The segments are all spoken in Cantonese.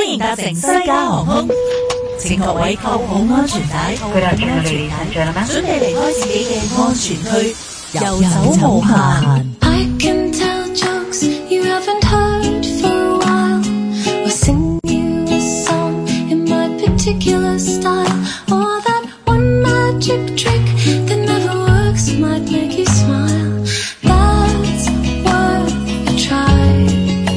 迎搭乘西加航空，請各位扣好安全帶，準備離開自己嘅安全區，遊走無限。I can tell jokes you haven't heard for a while, or sing you a song in my particular style, or that one magic trick that never works might make you smile. That's worth a try.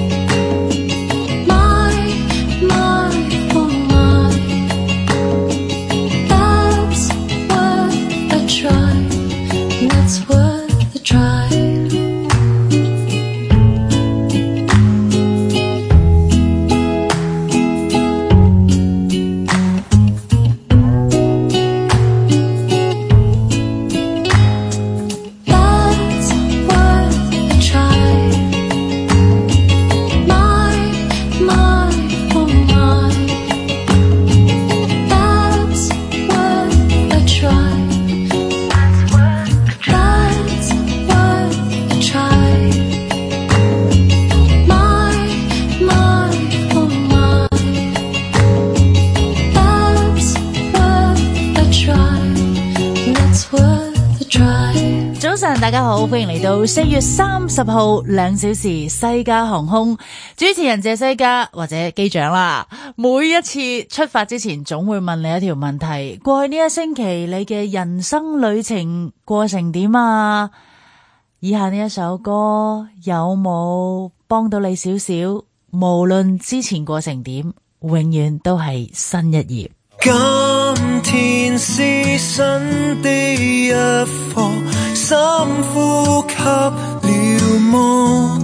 大家好，歡迎嚟到4月30號2小時西加航空，主持人謝西加或者機長啦。每一次出發之前總會問你一條問題，過去呢一星期你嘅人生旅程過成點啊？以下呢一首歌有冇幫到你少少？無論之前過成點，永遠都係新一頁。 今天是新的一課，深呼吸了麼？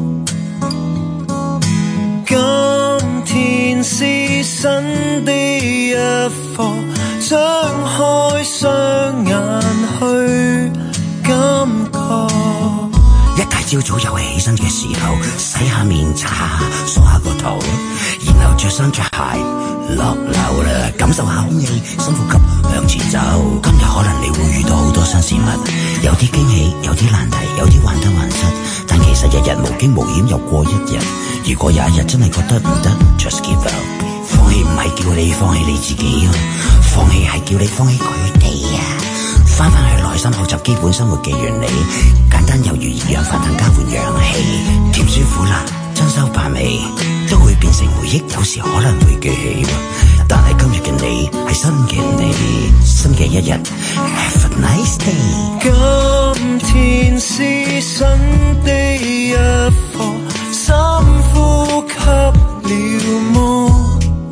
今天是新的一課，張開雙眼去感覺。 一大朝早又係起身嘅時候，洗下面擦下梳下個頭，然後着衫着鞋落樓啦，感受下空氣，深呼吸向前走。今日可能你會遇到好多新事物，有啲驚喜，有啲難題，有啲患得患失，但其實日日無驚無險又過一日。如果有一日真係覺得唔得 ，just give up。放棄唔係叫你放棄你自己，放棄係叫你放棄佢哋啊！翻返去內心學習基本生活嘅原理，簡單猶如二氧化碳交換氧氣，甜酸苦辣珍饈百味都會變成回憶，有時可能會記起，但係今日嘅你係新嘅你，新嘅一日 Have a nice day。 今天是新的一課，深呼吸了麼？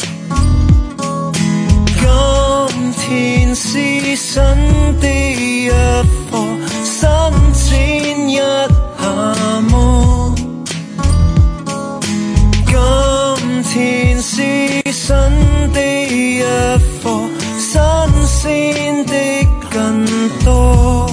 今天是新的一課，伸展一下麼？今天是新的一課，新鮮的更多。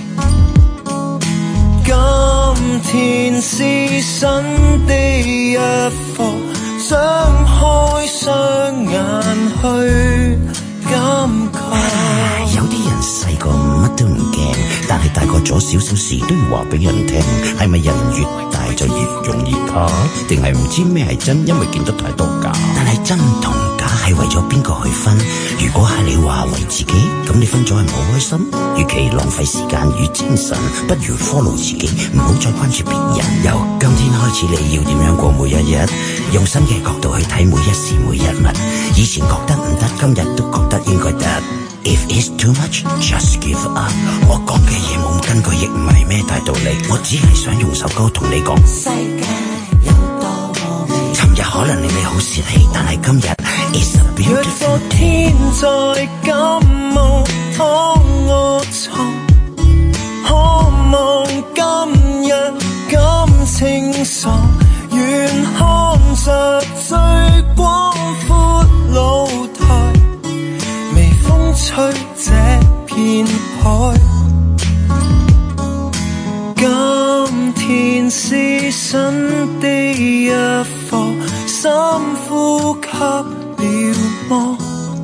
今天是新的一課，張開雙眼去感覺。 有啲人細個乜都唔驚，但係大個咗少少事都要話俾人聽。係咪人越大就越容易怕？定係唔知咩係真，因為見得太多假？但係真同假係為咗邊個去分？如果係你話為自己，咁你分咗係唔好開心。與其浪費時間與精神，不如 follow 自己，唔好再關注別人。由今天開始，你要點樣過每一日？用新嘅角度去睇每一時每一物。以前覺得唔得，今日都覺得應該得。If it's too much, just give up。 我講嘅嘢冇根據，亦唔係咩大道理，我只係想用首歌同你講。世界有多麼美。尋日可能你好洩氣，但係今日 is a beautiful day。 若昨天在感冒躺臥床，渴望今日感清爽，願看着最廣闊露台，微風吹這片海。今天是新的一課，深呼吸了麼？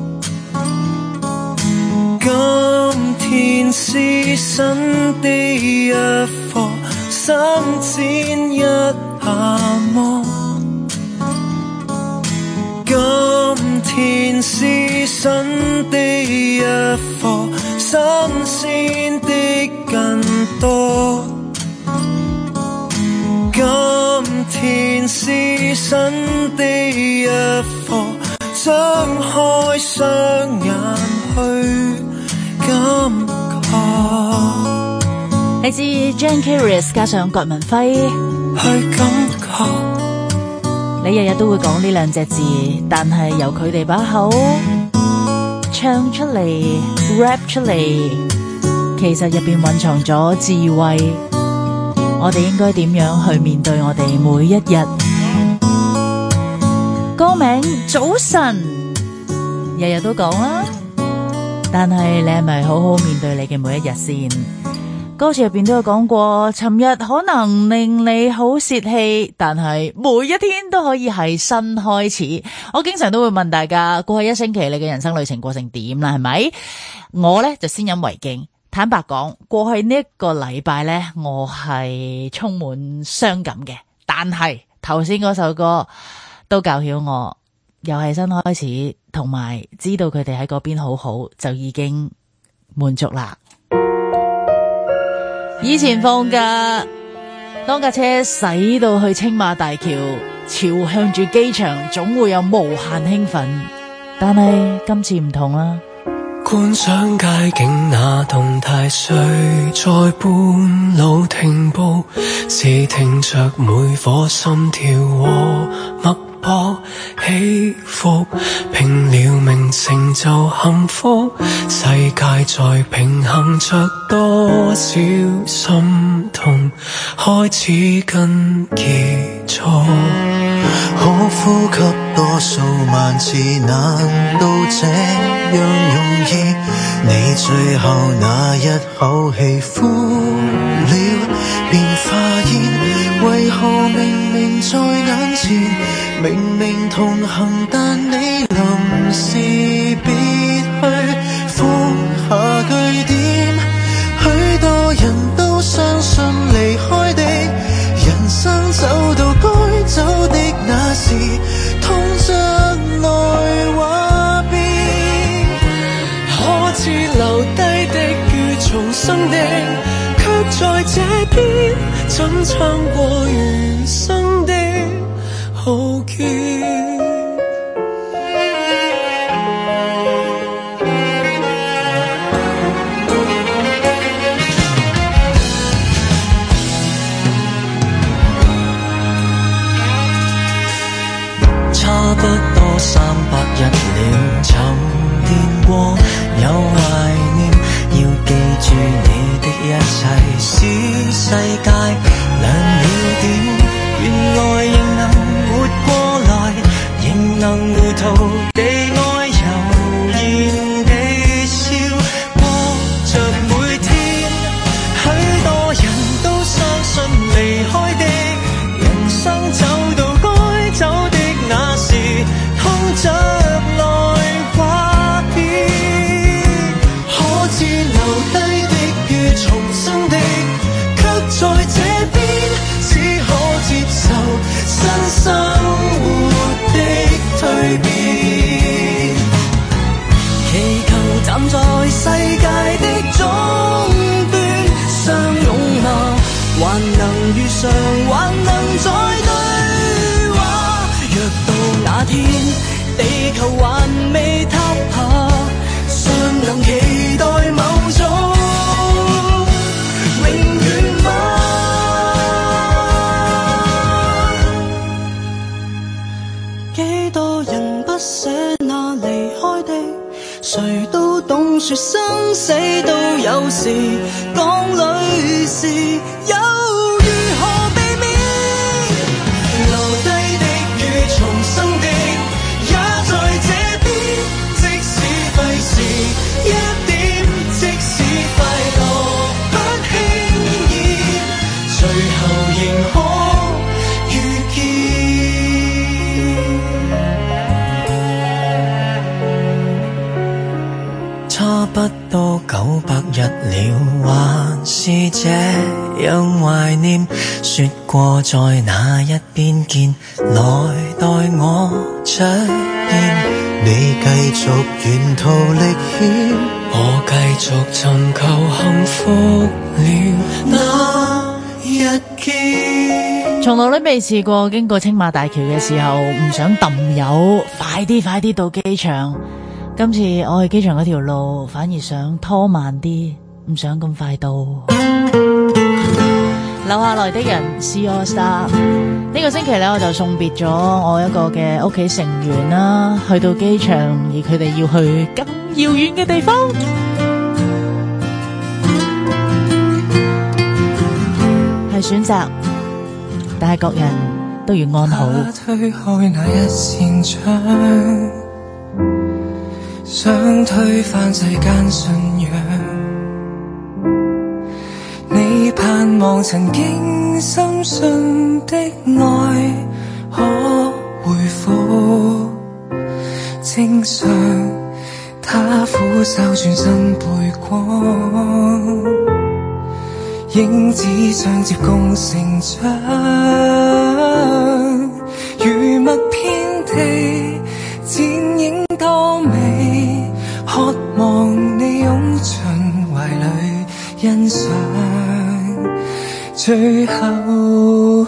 今天是新的一課，伸展一下麼？今甜是新的一課，新鮮的更多。今天是新的一課，張開雙眼去感覺。 嚟自 Jane Curious 加上郭文輝， 去感覺。 你日日都會講呢兩隻字，但係由佢哋把口唱出嚟 rap 出嚟，其實入邊蘊藏咗智慧。我哋應該點樣去面對我哋每一日？歌名早晨，日日都講啦，但係你係咪好好面對你嘅每一日先？歌詞入邊都有講過，尋日可能令你好洩氣，但係每一天都可以係新開始。我經常都會問大家，過去一星期你嘅人生旅程過成點啦？係咪？我呢就先飲為敬。坦白講，過去呢一個禮拜呢，我係充滿傷感嘅。但係頭先嗰首歌都教曉我，又係新開始，同埋知道佢哋喺嗰邊好好，就已經滿足啦。以前放假，當架車駛到去青馬大橋，朝向住機場，總會有無限興奮。但係今次唔同啦。 觀賞街景那動態，誰在半路停步？是聽着每顆心跳和脈搏起伏，拼了命成就幸福。世界在平衡着多少心痛，開始跟結束。可呼吸多數萬次，難道這樣容易？你最後那一口氣呼了，便發現為何明明在眼前，明明同行，但你臨時別去放下句點。許多人都相信離開的人生走到該走的那時，痛着來話別。可知留低的與重生的，卻在這邊怎撐過餘生的浩劫。差不多300日了，沉澱過有懷念，要記住你的一切，使世界亮了點。原來仍能活過來，仍能糊塗地愛，悠然地笑過着每天。許多人都相信離開的人生走到該走的那時，痛着來話別。可知留低的與重生的，卻在這邊只可接受新生活的蛻變。祈求站在世界的終端相擁嗎？還能遇上，還能再對話。若到那天地球還未塌下，尚能期待某種永遠嗎？幾多人不捨那離開的，誰都懂說生死都有時，講裏事又如何避免？留低的與重生的也在這邊，即使費事一點，即使快樂不輕易，最後仍可遇見。差不多900日了，還是這樣懷念。說過在那一邊見，來待我出現。 你繼續沿途歷險，我繼續尋求幸福了。那日見， 從來都未試過經過青馬大橋嘅時候唔想抌油，快啲到機場。今次我去機場嗰條路反而想拖慢啲，唔想咁快到。留下來的人 See All Star， 呢個星期咧我就送別咗我一個嘅屋企成員啦，去到機場，而佢哋要去咁遙遠嘅地方，係選擇，但係各人都要安好。 推開那一扇窗，想推翻世間信仰，你盼望曾經深信的愛可回復正常，他俯首轉身背光，影子相接共成長，如墨遍地剪影多美，渴望你擁進懷裡欣賞，最後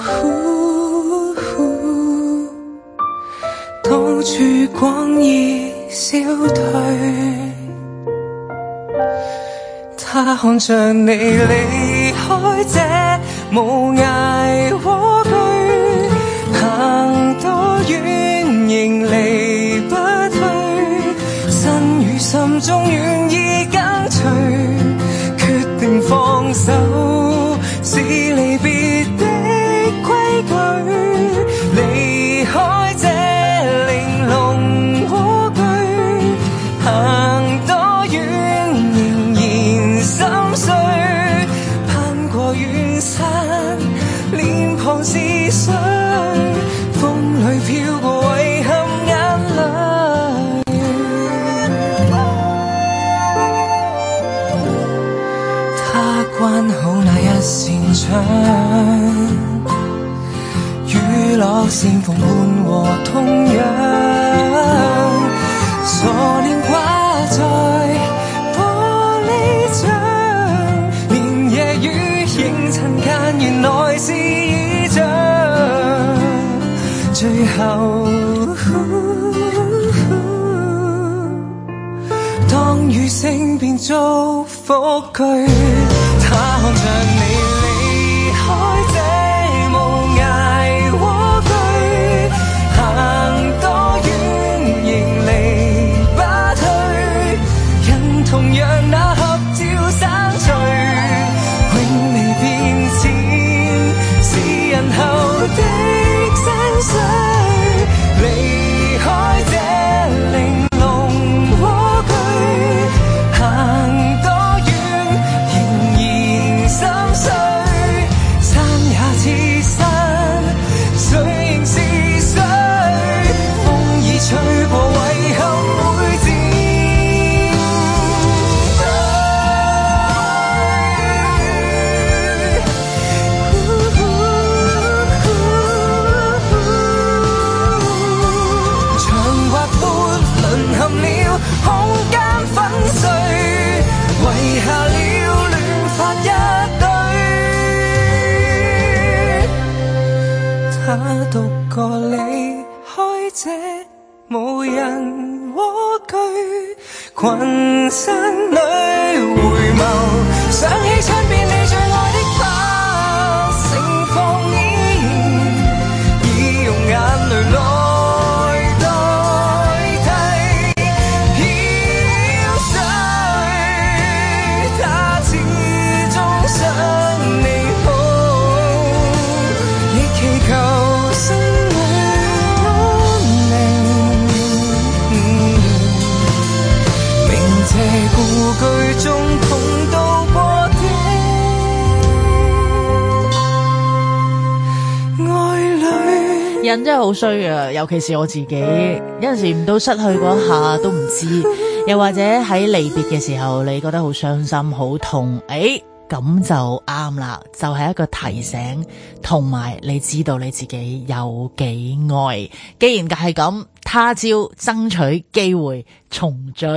當曙光已消退，他看着你離開這無涯蝸居，行多遠仍離不退，身與心中願意跟隨，決定放手是離別的規矩，離開這玲瓏蝸居，行多遠仍然心碎，攀過遠山臉龐是水，風裡飄過遺憾眼淚，他關好那一扇窗，雨落線縫伴和痛癢，傻臉掛在玻璃窗，連夜雨仍塵間原來是意象，最後當雨聲變祝福句，他看着你離開這無涯蝸居，行多遠仍離不退，人同樣那合照散聚，永未變遷是人後的山水，離開這玲瓏蝸居，行多遠仍然心碎，山也似山，水仍是水，風已吹過遺憾會漸長或闊淪陷了空間粉碎，遺下了亂髮一堆，他獨個離開這無人蝸居，群山裡回眸，想起窗邊你最愛的花，盛放依然，已用眼淚來代替飄水，他始終想你好，亦祈求心裏安寧，明謝故居中同渡過的愛侶。 人真係好衰啊，尤其是我自己，有陣時唔到失去嗰一下都唔知，又或者喺離別嘅時候，你覺得好傷心、好痛， 咁就啱啦，就係一個提醒，同埋你知道你自己有幾愛。既然係咁，他朝爭取機會重聚。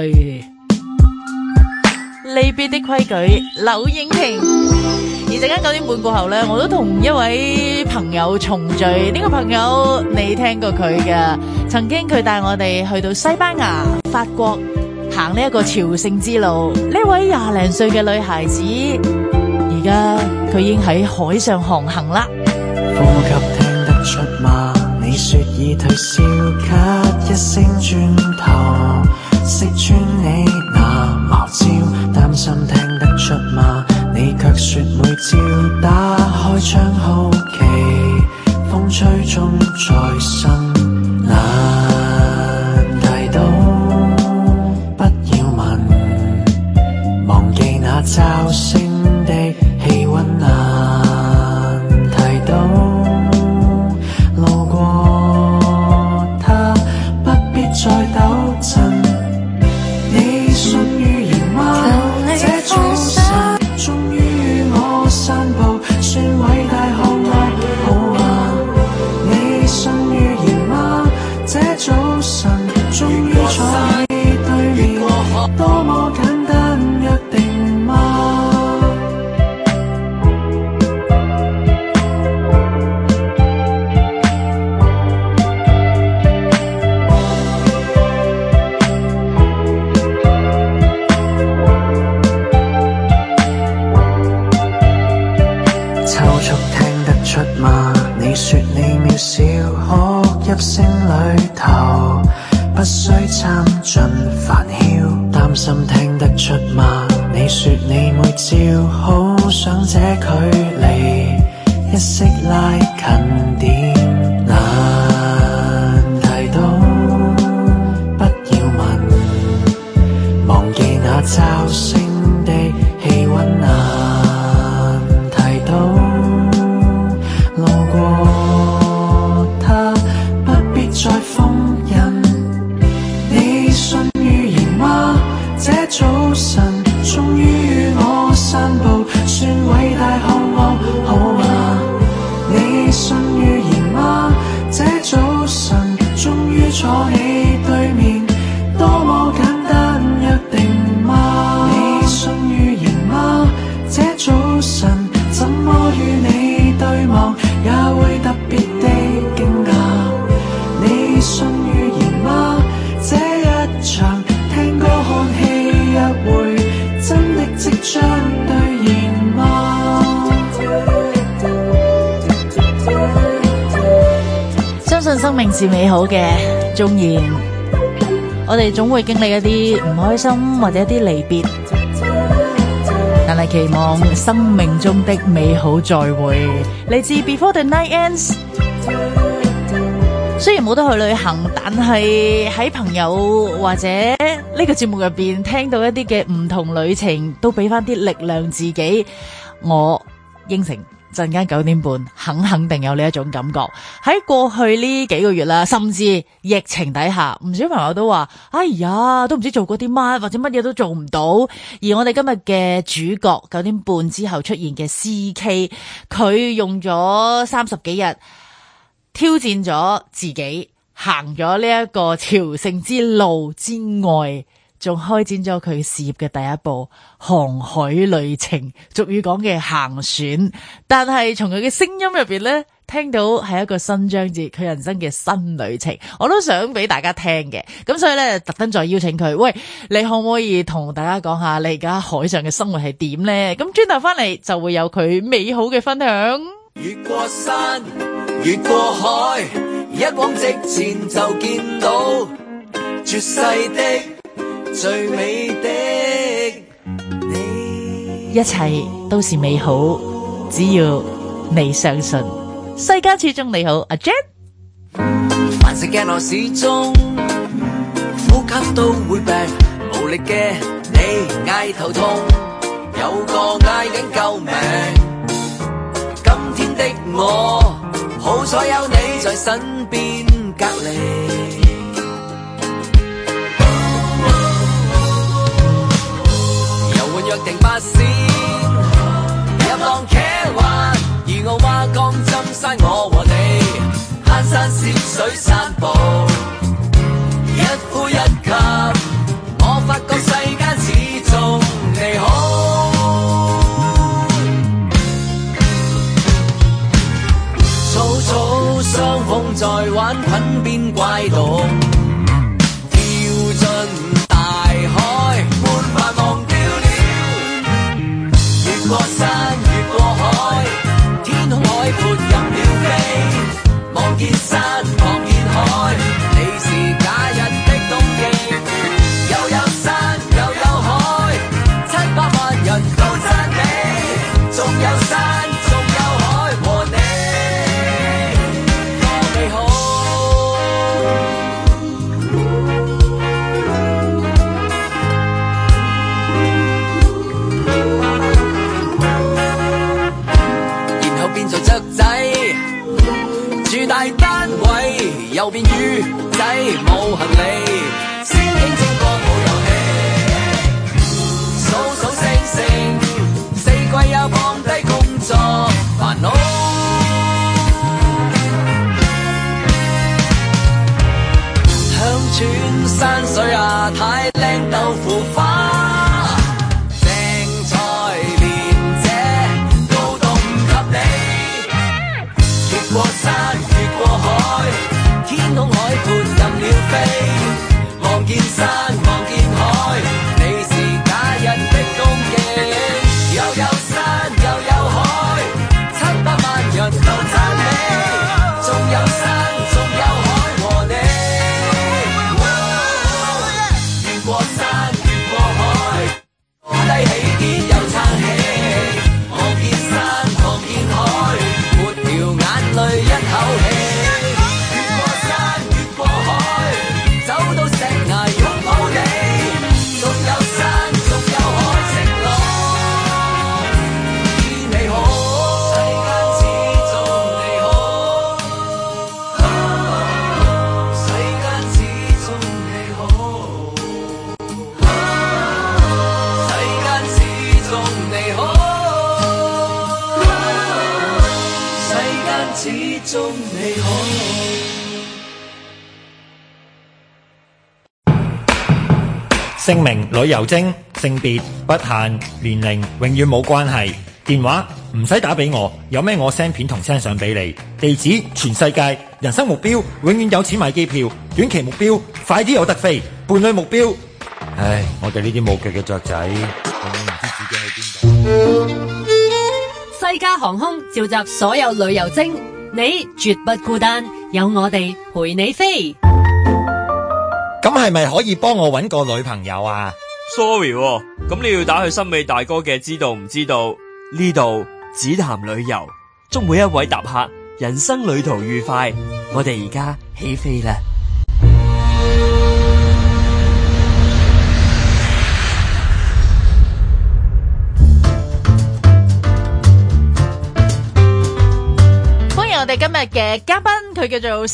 離別的規矩，柳應廷。而陣間9點半過後呢，我都同一位朋友重聚。呢個朋友你聽過佢嘅？曾經佢帶我哋去到西班牙、法國行呢一個朝聖之路。呢位20零歲嘅女孩子，而家佢已經喺海上航行啦。 呼吸聽得出嗎？你說已退燒，咳一聲轉頭，識穿你那茅招，擔心聽得出嗎？你卻說每朝打開窗好奇，風吹中在身難提到，不要問，忘記那驟升的氣溫難提到，路過它不必再抖震，你信預言嗎？這早晨終於與我散步，算偉大項目好嗎？你信預言嗎？這早晨終於坐你對面，多麼簡單約定嗎？你說你渺小，哭泣聲裏頭不需參盡煩囂，擔心聽得出嗎？你說你每朝好想這距離一息拉近點，難提到，不要問，忘記那驟升的氣溫難提到，路過它不必再封印，你信預言嗎？這早晨終於與我散步，算偉大項目好嗎？你信預言嗎？這早晨終於坐你對面，多麼簡單約定嗎？你信預言嗎？這早晨怎麼與你對望，也會特別的驚訝。你信預言嗎？這一場聽歌看戲約會，真的即將兌現嗎？ 相信生命是美好嘅，縱然我哋總會經歷一啲唔開心或者一啲離別，但係期望生命中的美好再會。嚟自 Before the Night Ends。雖然冇得去旅行，但係喺朋友或者呢個節目入邊聽到一啲嘅唔同旅程，都俾翻啲力量自己。我應承陣間9點半肯定有呢一種感覺。喺過去呢幾個月啦，甚至疫情底下，唔少朋友都話：哎呀，都唔知做過啲乜，或者乜嘢都做唔到。而我哋今日嘅主角9點半之後出現嘅 CK， 佢用咗30幾日挑戰咗自己，行咗呢一個朝聖之路之外，仲開展咗佢事業嘅第一步航海旅程，俗語講嘅行船。但係從佢嘅聲音入邊呢，聽到係一個新章節，佢人生嘅新旅程，我都想俾大家聽嘅。咁所以呢，特登再邀請佢，喂，你可唔可以同大家講下你而家海上嘅生活係點呢？咁轉頭翻嚟就會有佢美好嘅分享。 越過山，越過海，一往直前就見到絕世的最美的你， 一切都是美好，只要你相信。世間始終你好，阿 Jet。 凡事驚我始終呼吸都會病，無力嘅你嗌頭痛，有個嗌緊救命。今天的我好彩有你在身邊隔離，遊玩約定8仙， 水散步，一呼一吸，我發覺世間始終你好。草草相逢在玩滾邊怪盜，跳進大海，沒法忘掉了。越過山，越過海，天空海闊任鳥飛，望見山，望見海，你是假日的冬季，又有山，又有海，700萬人都讚美，仲有山，仲有海和你。做雀仔，住大單位，又變魚仔，冇行李，先傾正過冇遊戲，數數星星，四季又放低工作煩惱，鄉村山水啊，太靚豆腐花。越過山，越過海，天空海闊任鳥飛，望見山，望見海，你是假日的冬季，又有山，又有海，700萬人都讚美，仲有山，仲有海和你。越過山，越過海，高低起跌又撐起，望見山，望見海，沒條眼淚一口氣，越過山，越過海，走到石崖擁抱你，仲有山，仲有海，承諾與你好，世間始終你好，世間始終你好，世間始終你好。始終你好。 姓名旅遊精，性別不限，年齡永遠冇關係。電話唔使打俾我，有咩我 send 片同 send 相俾你。地址全世界。人生目標永遠有錢買機票，短期目標快啲有得飛。伴侶目標，唉，我哋呢啲冇腳嘅雀仔，永遠唔知自己喺邊度。 西加航空召集所有旅遊精，你絕不孤單，有我哋陪你飛。 咁係咪可以幫我搵個女朋友啊 ？Sorry，咁你要打去森美大哥嘅知道唔知道？呢度只談旅遊，祝每一位搭客人生旅途愉快。我哋而家起飛啦！ 我哋今日嘅嘉賓佢叫做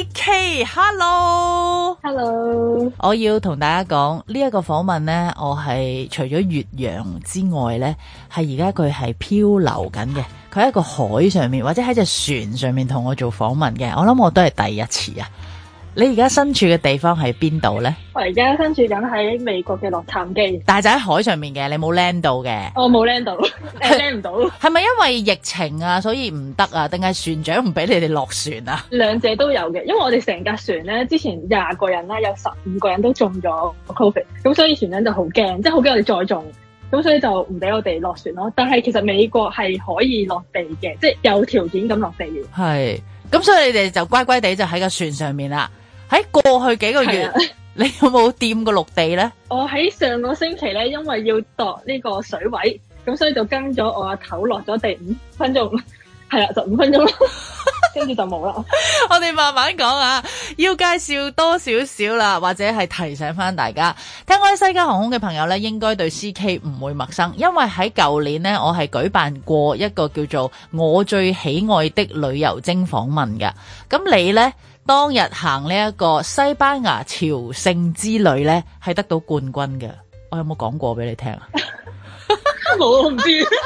CK，Hello， 我要同大家講呢一個訪問呢，我係除咗越洋之外呢，係而家佢係漂流緊嘅，佢喺一個海上面或者喺隻船上面同我做訪問嘅，我諗我都係第一次啊！你而家身處嘅地方係邊度呢？ 我而家身處緊喺美國嘅洛杉磯， 但係就喺海上面嘅，你冇 land 到嘅。 我冇 land 到，land 唔到。係咪因為疫情啊，所以唔得啊？定係船長唔俾你哋落船啊？ 兩者都有嘅，因為我哋成架船咧，之前20個人啦，有15個人都中咗 COVID， 咁所以船長就好驚，即係好驚我哋再中，咁所以就唔俾我哋落船咯。但係其實美國係可以落地嘅，即係有條件咁落地嘅。 係，咁所以你哋就乖乖地就喺個船上面啦。喺過去幾個月，你有冇掂過陸地咧？ 我喺上個星期咧，因為要度呢個水位，咁所以就跟咗我阿頭落咗地5分鐘，係啦，就5分鐘咯，跟住就冇啦。 我哋慢慢講啊，要介紹多少少啦，或者係提醒翻大家，聽開西加航空嘅朋友咧，應該對 CK 唔會陌生，因為喺舊年呢，我係舉辦過一個叫做我最喜愛的旅遊精訪問嘅。咁你呢？當日行呢一個西班牙朝聖之旅呢，係得到冠軍嘅。我有冇講過俾你聽啊？ 冇，我唔知。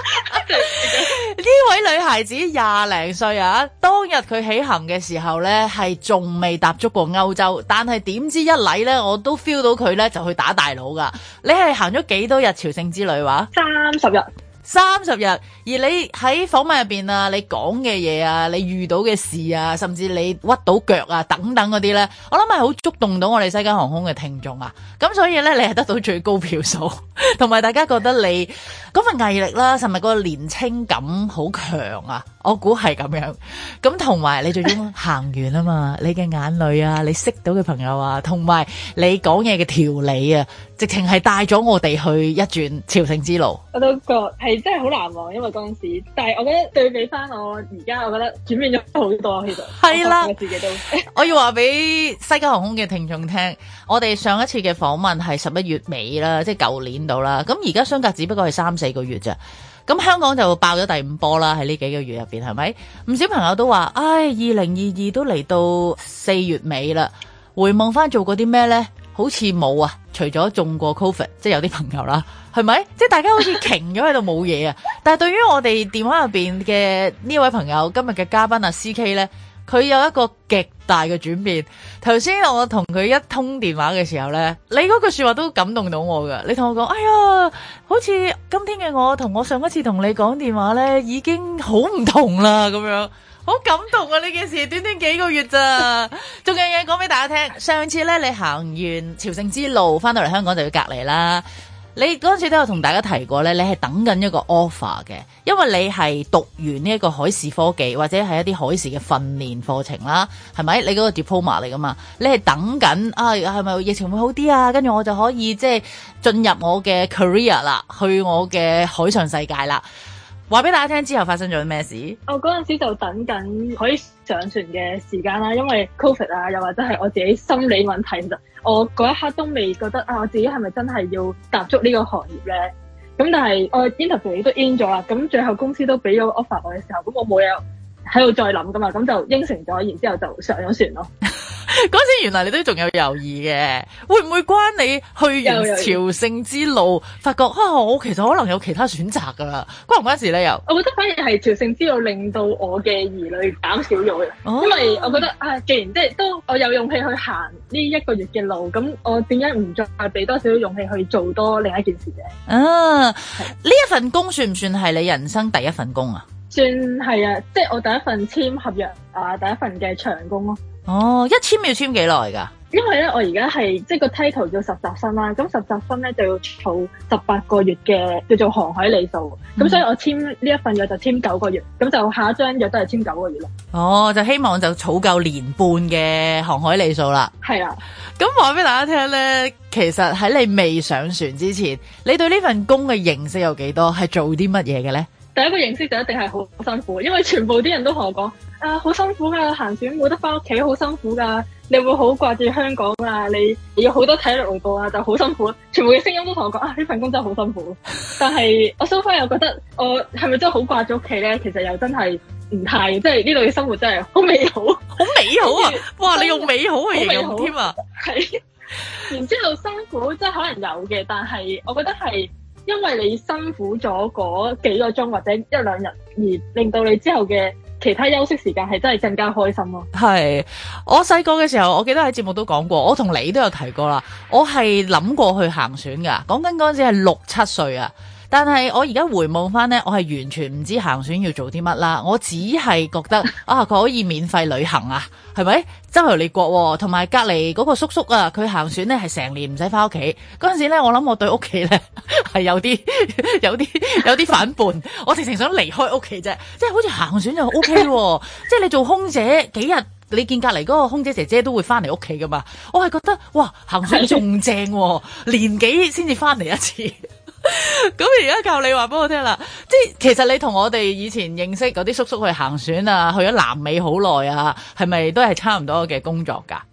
呢位女孩子20零歲啊，當日佢起行嘅時候呢，係仲未踏足過歐洲，但係點知一嚟呢，我都 feel 到佢呢就去打大佬噶。你係行咗幾多日朝聖之旅話 ？30日。 30日，而你喺訪問入邊啊，你講嘅嘢啊，你遇到嘅事啊，甚至你屈到腳啊等等嗰啲呢，我諗係好觸動到我哋西加航空嘅聽眾啊。咁所以呢，你係得到最高票數，同埋大家覺得你嗰份毅力啦，甚至個年青感好強啊。我估係咁樣。咁同埋你最終行完啊嘛，你嘅眼淚啊，你識到嘅朋友啊，同埋你講嘢嘅條理啊，直情係帶咗我哋去一轉朝聖之路。 我都覺係真係好難忘，因為嗰陣時，但係我覺得對比翻我而家，我覺得轉變咗好多。其實係啦，我自己都我要話俾西加航空嘅聽眾聽，我哋上一次嘅訪問係11月尾啦，即係舊年度啦。咁而家相隔只不過係3-4個月咋。咁香港就爆咗第5波啦，喺呢幾個月入邊，係咪？唔少朋友都話，唉，2022都嚟到4月尾啦，回望翻做過啲咩呢？好似冇啊，除咗中過 Covid， 即係有啲朋友啦，係咪？即係大家好似停咗喺度冇嘢啊。但係對於我哋電話入邊嘅呢位朋友，今日嘅嘉賓啊 CK 呢，佢有一個極大嘅轉變。頭先我同佢一通電話嘅時候呢，你嗰句說話都感動到我噶。你同我講，哎呀，好似今天嘅我同我上一次同你講電話呢已經好唔同啦，咁樣好感動啊！呢件事短短幾個月咋，仲有嘢講俾大家聽。上次呢，你行完朝聖之路翻到嚟香港就要隔離啦。你嗰陣時都有同大家提過咧，你係等緊一個 offer 嘅，因為你係讀完呢一個海事科技或者係一啲海事嘅訓練課程啦，係咪？你嗰個 diploma 嚟噶嘛？你係等緊啊，係咪疫情會好啲啊？跟住我就可以即係進入我嘅 career 啦，去我嘅海上世界啦。話俾大家聽之後發生咗咩事？ 我嗰陣時就等緊可以上船嘅時間啦，因為 Covid 啊，又或者係我自己心理問題，其實我嗰一刻都未覺得啊，我自己係咪真係要踏足呢個行業咧？咁但係我 interview 都 in 咗啦，咁最後公司都俾咗 offer 我嘅時候，咁我冇嘢喺度再諗噶嘛，咁就應承咗，然之後就上咗船咯。 嗰時原來你都仲有猶豫嘅，會唔會關你去完朝聖之路發覺我其實可能有其他選擇噶啦？關唔關事咧？又我覺得反而係朝聖之路令到我嘅疑慮減少咗嘅，因為我覺得既然即係都我有勇氣去行呢1個月嘅路，咁我點解唔再俾多少勇氣去做多另一件事嘅？呢一份工算唔算係你人生第一份工啊？ 算係啊，即係我第一份簽合約啊，第一份嘅長工咯。 一簽要簽幾耐噶？ 因為咧，我而家係即係個 title 叫實習生啦，咁實習生咧就要儲18個月嘅叫做航海里數，咁所以我簽呢一份約就簽9個月，咁就下一張約都係簽9個月咯。 就希望就儲夠年半嘅航海里數啦。係啊，咁話俾大家聽咧，其實喺你未上船之前，你對呢份工嘅認識有幾多？係做啲乜嘢嘅咧？ 第一個認識就一定係好辛苦，因為全部啲人都同我講好辛苦噶，行船冇得翻屋企，好辛苦噶，你會好掛住香港啊，你要好多體力勞動啊，就好辛苦。全部嘅聲音都同我講呢份工真係好辛苦。但係我 so far 又覺得我係咪真係好掛住屋企咧？其實又真係唔太，即係呢度嘅生活真係好美好，好美好啊！哇，你用美好去形容添啊！係，然之後辛苦即係可能有嘅，但係我覺得係。因為你辛苦咗嗰幾個鐘或者1-2日，而令到你之後嘅其他休息時間係真係更加開心咯。係，我細個嘅時候，我記得喺節目都講過，我同你都有提過啦。我係諗過去行船噶，講緊嗰陣時係6-7歲啊。但係我而家回望翻呢，我係完全唔知行船要做啲乜啦。我只係覺得佢可以免費旅行啊，係咪？周遊列國，同埋隔離嗰個叔叔啊，佢行船呢係成年唔使翻屋企。嗰陣時呢，我諗我對屋企呢係有啲反叛，我直情想離開屋企啫。即係好似行船就 OK 喎，即係你做空姐幾日，你見隔離嗰個空姐姐姐都會翻嚟屋企噶嘛。我係覺得哇，行船仲正喎，年幾先至翻嚟一次。咁而家靠你話俾我聽啦，即係其實你同我哋以前認識嗰啲叔叔去行船啊，去咗南美好耐啊，係咪都係差唔多嘅工作噶？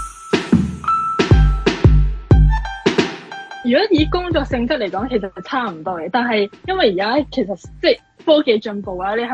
如果以工作性質嚟講，其實係差唔多嘅。但係因為而家其實即係科技進步啊，你係咪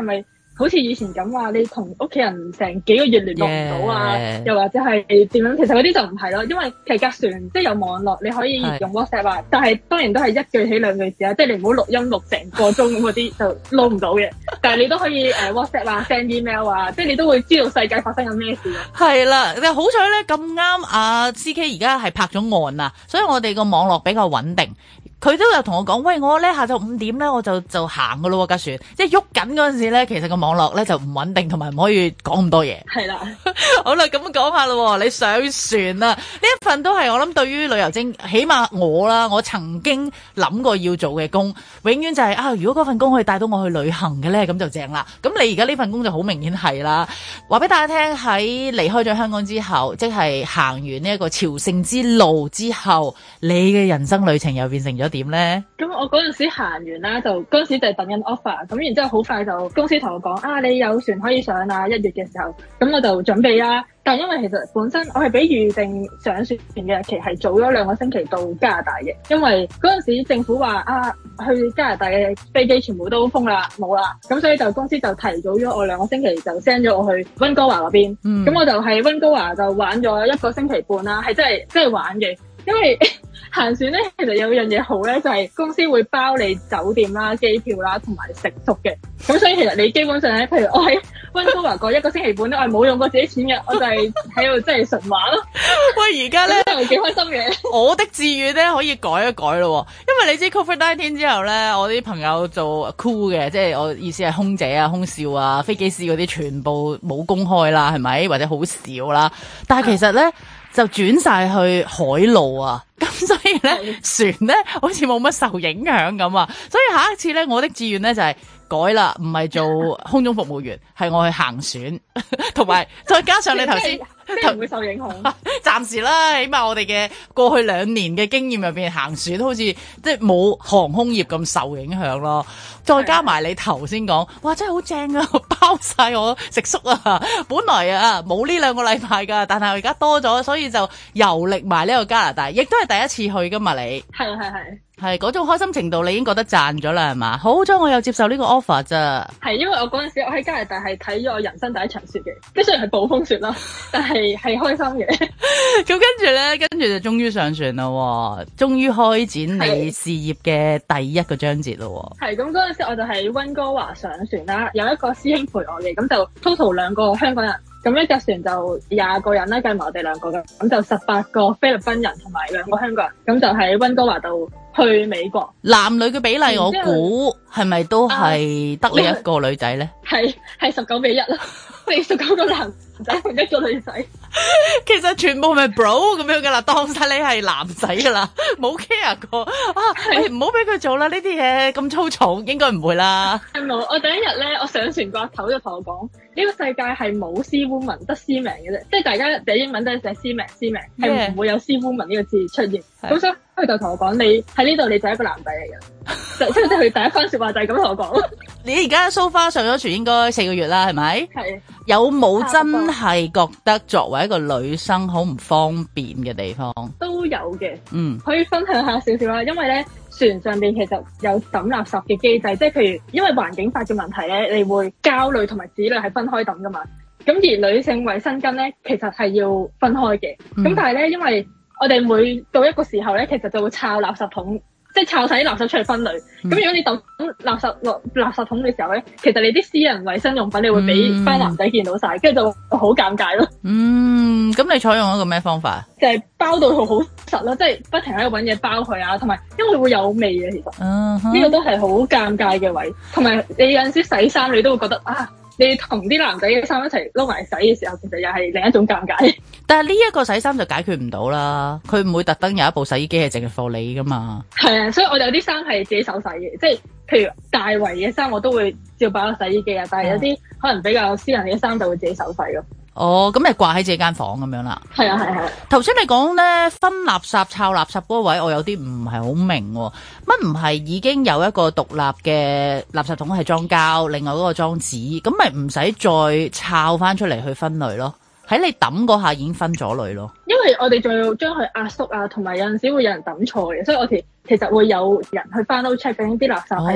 好似以前咁話，你同屋企人成幾個月聯絡唔到啊，又或者係點樣？其實嗰啲就唔係咯，因為其實隔船即係有網絡，你可以用 WhatsApp 啊，但係當然都係一句起兩句止啊，即係你唔好錄音錄成個鐘咁嗰啲就撈唔到嘅。但係你都可以WhatsApp 啊 send email 啊，即係你都會知道世界發生緊咩事咯。 係啦，但係好彩咧咁啱啊 CK 而家係拍咗岸啊，所以我哋個網絡比較穩定。佢都有同我講，喂，我咧下晝5點咧我就行噶咯喎架船，即係喐緊嗰陣時咧，其實個網絡咧就唔穩定，同埋唔可以講咁多嘢。係啦，好啦，咁講下咯，你上船啊，呢一份都係我諗對於旅遊精，起碼我啦，我曾經諗過要做嘅工，永遠就係啊，如果嗰份工可以帶到我去旅行嘅咧，咁就正啦。咁你而家呢份工就好明顯係啦。話俾大家聽，喺離開咗香港之後，即係行完呢一個朝聖之路之後，你嘅人生旅程又變成咗點咧？ 咁我嗰陣時行完啦，就嗰陣時就係等緊 offer， 咁然之後好快就公司同我講啊，你有船可以上啊，1月嘅時候，咁我就準備啦。但因為其實本身我係比預定上船嘅日期係早咗2個星期到加拿大嘅，因為嗰陣時政府話啊，去加拿大嘅飛機全部都封啦，冇啦，咁所以就公司就提早咗我2個星期就 send 咗我去溫哥華嗰邊，咁我就喺溫哥華就玩咗1個星期半啦，係真係玩嘅。因為行船咧，其實有樣嘢好咧，就係公司會包你酒店啦、機票啦同埋食宿嘅。咁所以其實你基本上咧，譬如我喺溫哥華過1個星期半咧，我係冇用過自己錢嘅，我就係喺度真係純玩咯。 喂，而家咧真係幾開心嘅。 我的志願咧可以改一改咯，因為你知 COVID-19 之後咧，我啲朋友做 crew 嘅，即係我意思係空姐啊、空少啊、飛機師嗰啲，全部冇公開啦，係咪？或者好少啦。但係其實咧，就轉晒去海路啊，咁所以咧船咧好似冇乜受影響咁啊，所以下一次咧我的志願咧就係改啦，唔係做空中服務員，係我去行船，同埋再加上你頭先唔會受影響， 暫時啦，起碼我哋嘅過去2年嘅經驗入邊，行船好似即係冇航空業咁受影響咯。再加埋你頭先講，哇真係好正啊，包晒我食宿啊！本來啊冇呢2個禮拜噶，但係我而家多咗，所以就遊歷埋呢個加拿大，亦都係第一次去噶嘛你。係嗰種開心程度，你已經覺得賺咗啦，係嘛？好彩我有接受呢個 offer 咋。 係因為我嗰陣時我喺加拿大係睇咗我人生第一場雪嘅，即係雖然係暴風雪啦，但係開心嘅。 咁跟住就終於上船啦，終於開展你事業嘅第一個章節咯。係咁嗰陣時我就喺溫哥華上船啦，有一個師兄陪我嘅，咁就 total 2個香港人。咁一架船就20個人啦，計埋我哋2個嘅，咁就18個菲律賓人同埋2個香港人，咁就喺溫哥華度去美國。男女嘅比例我估係咪都係得你一個女仔咧？係19:1啦，你19個男仔同1個女仔。 其實全部咪 bro 咁樣噶啦，當晒你係男仔噶啦，冇 care 過啊！你唔好俾佢做啦，呢啲嘢咁粗糙，應該唔會啦。 係冇，我第一日咧，我上船個頭就同我講，呢個世界係冇 C woman 得 C man 嘅啫，即係大家寫英文都係寫 C man，係唔會有 C woman 呢個字出現。咁所以佢就同我講，你喺呢度你就係一個男仔嚟嘅，即係佢第一番說話就係咁同我講。你而家 so far 上咗船應該4個月啦，係咪？係。有冇真係覺得作為一個女生好唔方便嘅地方？都有嘅，可以分享下少少啦。因為咧船上邊其實有抌垃圾嘅機制，即係譬如因為環境法嘅問題咧，你會膠類同埋紙類係分開抌噶嘛。咁而女性衛生巾咧，其實係要分開嘅。咁但係咧，因為我哋每到一個時候咧，其實就會抄垃圾桶。即係抄晒啲垃圾出嚟分類，咁如果你抌垃圾落垃圾桶嘅時候咧，其實你啲私人衛生用品你會俾班男仔見到晒，跟住就好尷尬咯。咁你採用一個咩方法？就係包到佢好實咯，即係不停喺度搵嘢包佢啊，同埋因為會有味嘅，其實呢個都係好尷尬嘅位。同埋你有陣時洗衫，你都會覺得啊，你同啲男仔嘅衫一齊撈埋洗嘅時候，其實又係另一種尷尬。但係呢一個洗衫就解決唔到啦，佢唔會特登有一部洗衣機係淨係放你噶嘛。係啊，所以我哋有啲衫係自己手洗嘅，即係譬如大圍嘅衫我都會照擺落洗衣機啊，但係有啲可能比較私人嘅衫就會自己手洗咯。哦，咁咪掛喺自己間房咁樣啦。係啊，係啊。頭先你講咧分垃圾、抄垃圾嗰位，我有啲唔係好明喎。乜唔係已經有一個獨立嘅垃圾桶係裝膠，另外嗰個裝紙，咁咪唔使再抄翻出嚟去分類咯？喺你抌嗰下已經分咗類咯。因為我哋仲要將佢壓縮啊，同埋有陣時會有人抌錯嘅，所以我哋其實會有人去翻到 check 緊啲垃圾係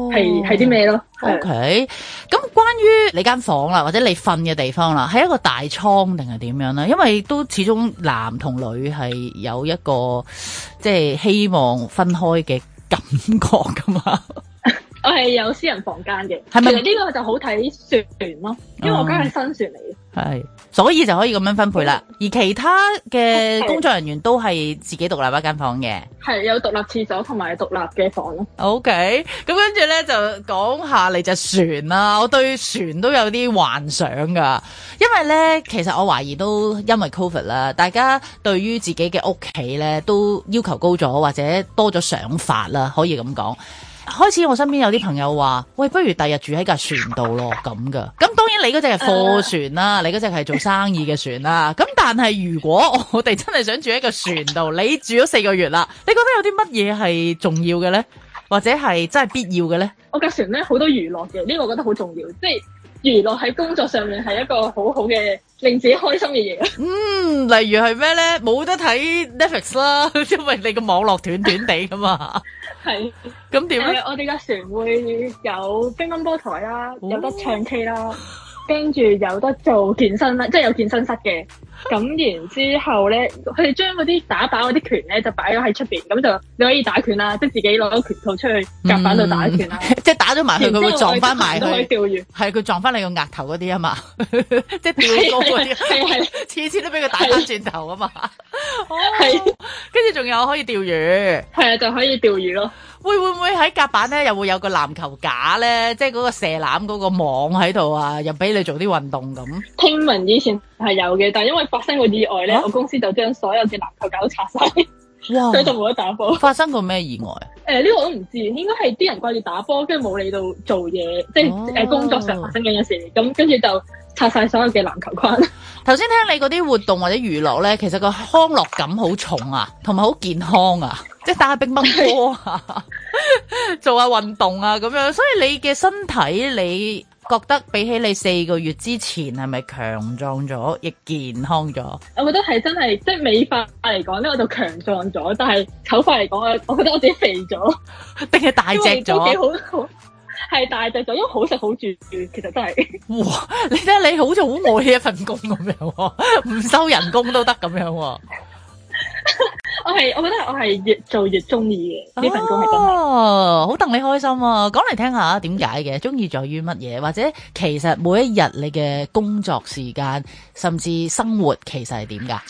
係啲咩咯。 OK， 咁關於你間房啦，或者你瞓嘅地方啦，係一個大倉定係點樣咧？因為都始終男同女係有一個即係希望分開嘅感覺噶嘛。 我係有私人房間嘅， 係咪？ 其實呢個就好睇船咯，因為我間係新船嚟嘅。 係，所以就可以咁樣分配啦。而其他嘅工作人員都係自己獨立一間房嘅，係有獨立廁所同埋獨立嘅房咯。 OK， 咁跟住咧就講下你隻船啦。我對船都有啲幻想噶，因為咧其實我懷疑都因為 Covid 啦，大家對於自己嘅屋企咧都要求高咗，或者多咗想法啦，可以咁講。開始我身邊有啲朋友話，喂，不如第日住喺架船度咯，咁噶。咁當然你嗰隻係貨船啦，你嗰隻係做生意嘅船啦。咁但係如果我哋真係想住喺個船度，你住咗4個月啦，你覺得有啲乜嘢係重要嘅咧，或者係真係必要嘅咧？ 我架船咧好多娛樂嘅，呢個我覺得好重要，即係娛樂喺工作上面係一個好好嘅令自己開心嘅嘢。 例如係咩咧？冇得睇 Netflix 啦，因為你個網絡斷斷地噶嘛。係，咁點咧？ 我哋架船會有乒乓波台啦，有得唱 K 啦，跟住有得做健身啦，即係有健身室嘅。咁然之後咧，佢哋將嗰啲打靶嗰啲拳咧就擺咗喺出邊，咁就你可以打拳啦，即係自己攞拳套出去夾板度打拳啦。即係打咗埋去，佢會撞翻埋去。釣魚係佢撞翻你個額頭嗰啲啊嘛，即係吊高嗰啲，係次次都俾佢打翻轉頭啊嘛。係，跟住仲有可以釣魚，係啊，就可以釣魚咯。會唔會喺甲板咧又會有個籃球架咧，即係嗰個射籃嗰個網喺度啊，又俾你做啲運動咁？ 聽聞以前係有嘅，但係因為發生過意外咧，我公司就將所有嘅籃球架都拆晒，所以就冇得打波。發生過咩意外？呢個我都唔知，應該係啲人掛住打波，跟住冇理到做嘢，即係工作上發生緊嘅事，咁跟住就拆晒所有嘅籃球框。頭先聽你嗰啲活動或者娛樂咧，其實個康樂感好重啊，同埋好健康啊，即係打下乒乓波啊，做下運動啊咁樣。所以你嘅身體，你覺得比起你4個月之前係咪強壯咗，亦健康咗？我覺得係真係，即係美化嚟講咧，我就強壯咗，但係醜化嚟講，我覺得我自己肥咗，定係大隻咗？都幾好。係大隻咗，因為好食好住，其實真係。哇！你睇下你好似好愛呢一份工咁樣，唔收人工都得咁樣。我覺得我係越做越中意嘅呢份工係真係。哦，好戥你開心啊！講嚟聽下點解嘅？中意在於乜嘢？或者其實每一日你嘅工作時間，甚至生活其實係點㗎？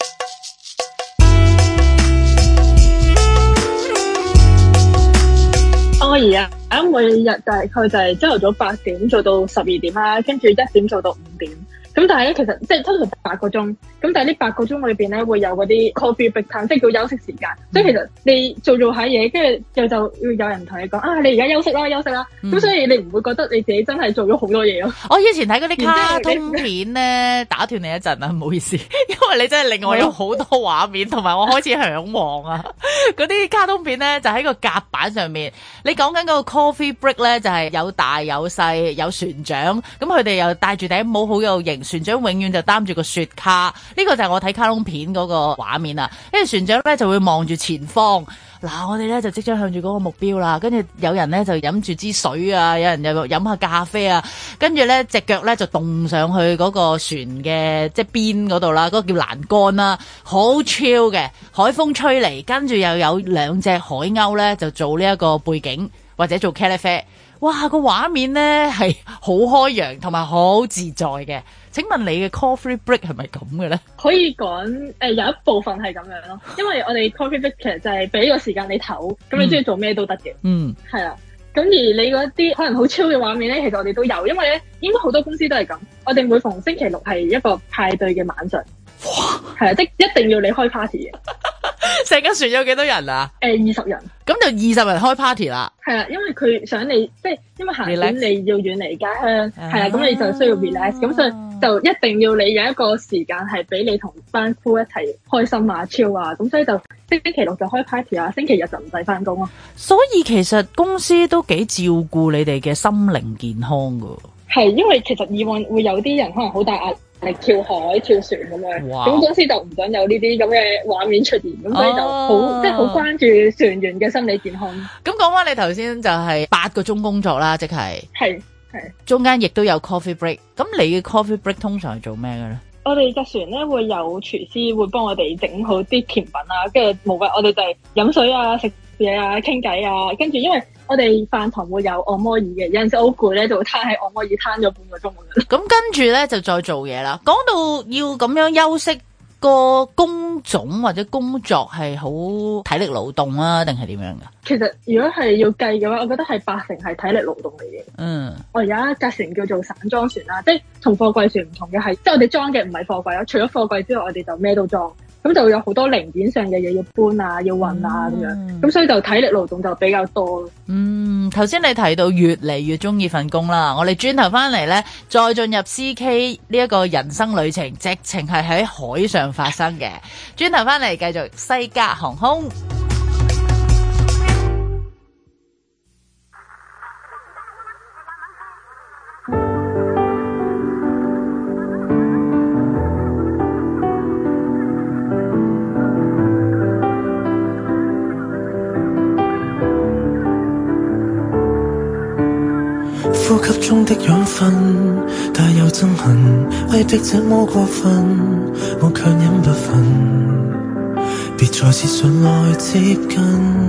我而家每日大概就係朝頭早8點做到12點啦，跟住1點做到5點。咁但係咧，其實即係通常8個鐘。咁但係呢8個鐘裏邊咧，會有嗰啲 coffee break time，即係叫休息時間。所以其實你做下嘢，跟住就要有人同你講啊，你而家休息啦，休息啦。咁所以你唔會覺得你自己真係做咗好多嘢咯。我以前睇嗰啲卡通片咧，打斷你一陣啊，唔好意思，因為你真係令我有好多畫面，同埋我開始向往啊。嗰啲卡通片咧就喺個甲板上面，你講緊嗰個 coffee break 咧就係有大有細，有船長，咁佢哋又戴住頂帽好有型，船長永遠就擔住個雪卡，呢個就係我睇卡通片嗰個畫面啊。跟住船長咧就會望住前方，嗱我哋咧就即將向住嗰個目標啦，跟住有人咧就飲住支水啊，有人又飲下咖啡啊，跟住咧隻腳咧就動上去嗰個船嘅即係邊嗰度啦，嗰個叫欄杆啦，好 chill 嘅，海風吹嚟，跟住又有2隻海鷗咧就做呢一個背景或者做茄喱啡，哇個畫面咧係好開揚同埋好自在嘅。請問你嘅 coffee break 係咪咁嘅咧？可以講有一部分係咁樣咯，因為我哋 coffee break 其實就係俾個時間你唞，咁你中意做咩都得嘅。係啦。咁而你嗰啲可能好超嘅畫面咧，其實我哋都有，因為咧應該好多公司都係咁。我哋每逢星期六係一個派對嘅晚上，係啊，即一定要你開 party 嘅。成間船有幾多人啊？20人。咁就20人開 party 啦。係啦，因為佢想你即係因為行船你要遠離家鄉，係啦，咁你就需要 relax，咁所以就一定要你有一個時間係俾你同班夫一齊開心啊、chill 啊，咁所以就星期六就開 party 啊，星期日就唔使翻工咯。所以其實公司都幾照顧你哋嘅心靈健康噶。係，因為其實以往會有啲人可能好大壓力跳海、跳船咁樣。 哇！ 咁公司就唔想有呢啲咁嘅畫面出現，咁所以就好即係好關注船員嘅心理健康。 咁講翻你頭先就係8個鐘工作啦，即係中間亦都有 coffee break。咁你嘅 coffee break 通常係做咩嘅咧？ 我哋隻船咧會有廚師會幫我哋整好啲甜品啊，跟住冇計，我哋就係飲水啊、食嘢啊、傾偈啊，跟住因為我哋飯堂會有按摩椅嘅，有陣時好攰咧就會攤喺按摩椅攤咗半個鐘咁樣。咁跟住咧就再做嘢啦。講到要咁樣休息，個工種或者工作係好體力勞動啊，定係點樣噶？ 其實如果係要計嘅話，我覺得係80%係體力勞動嚟嘅。我而家架船叫做散裝船啦，即係同貨櫃船唔同嘅係，即係我哋裝嘅唔係貨櫃咯，除咗貨櫃之外，我哋就咩都裝。咁就有好多零件上嘅嘢要搬啊，要運啊咁樣，咁所以就體力勞動就比較多。頭先你提到越嚟越中意份工啦，我哋轉頭翻嚟咧，再進入 CK 呢一個人生旅程，直情係喺海上發生嘅。轉頭翻嚟繼續西加航空。 呼吸中的養分帶有憎恨，威逼這麼過分，我卻忍不忿，別再次上來接近。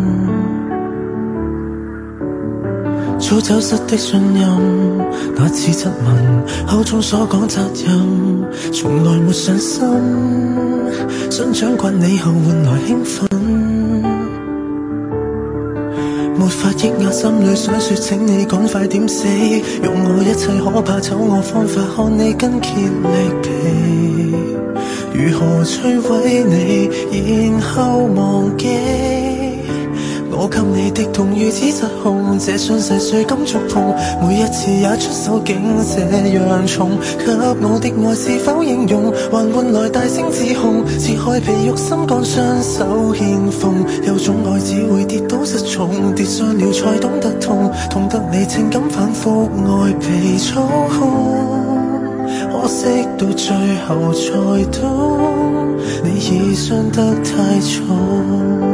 早走失的信任，那次質問，口中所講責任，從來沒上心，想掌摑你後換來興奮。沒法抑壓心裡想說請你趕快點死，用我一切可怕醜惡方法看你筋竭力疲，如何摧毀你然後忘記，我給你的痛如此失控，這傷勢誰敢觸碰，每一次也出手竟這樣重，給我的愛是否應用，還換來大聲指控，切開皮肉心肝雙手獻奉，有種愛只會跌倒失重，跌傷了才懂得痛，痛得你情感反覆愛被操控，可惜到最後才懂，你已傷得太重。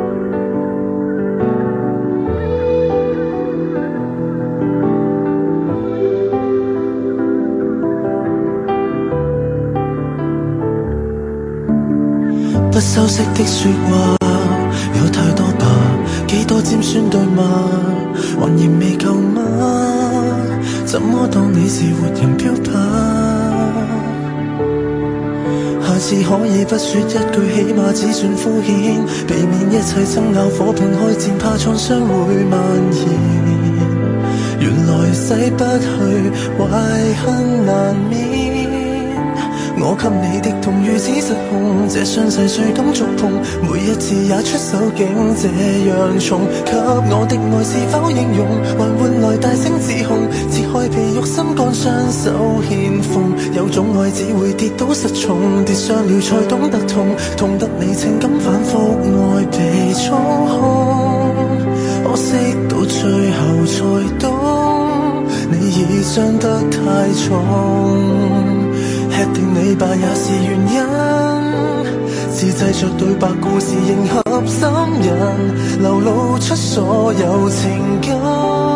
不修飾的說話有太多吧，幾多尖酸對罵，還嫌未夠嗎？怎麼當你是活人標靶？下次可以不說一句，起碼只算敷衍，避免一切爭拗夥伴開戰，怕創傷會蔓延。原來洗不去，懷恨難免。我給你的痛如此失控，這傷勢誰敢觸碰，每一次也出手竟這樣重，給我的愛是否應用，還換來大聲指控，切開皮肉心肝雙手獻奉，有種愛只會跌倒失重，跌傷了才懂得痛，痛得你情感反覆愛被操控，可惜到最後才懂，你已傷得太重，吃定你吧也是原因，自製着對白故事迎合心人，流露出所有情感。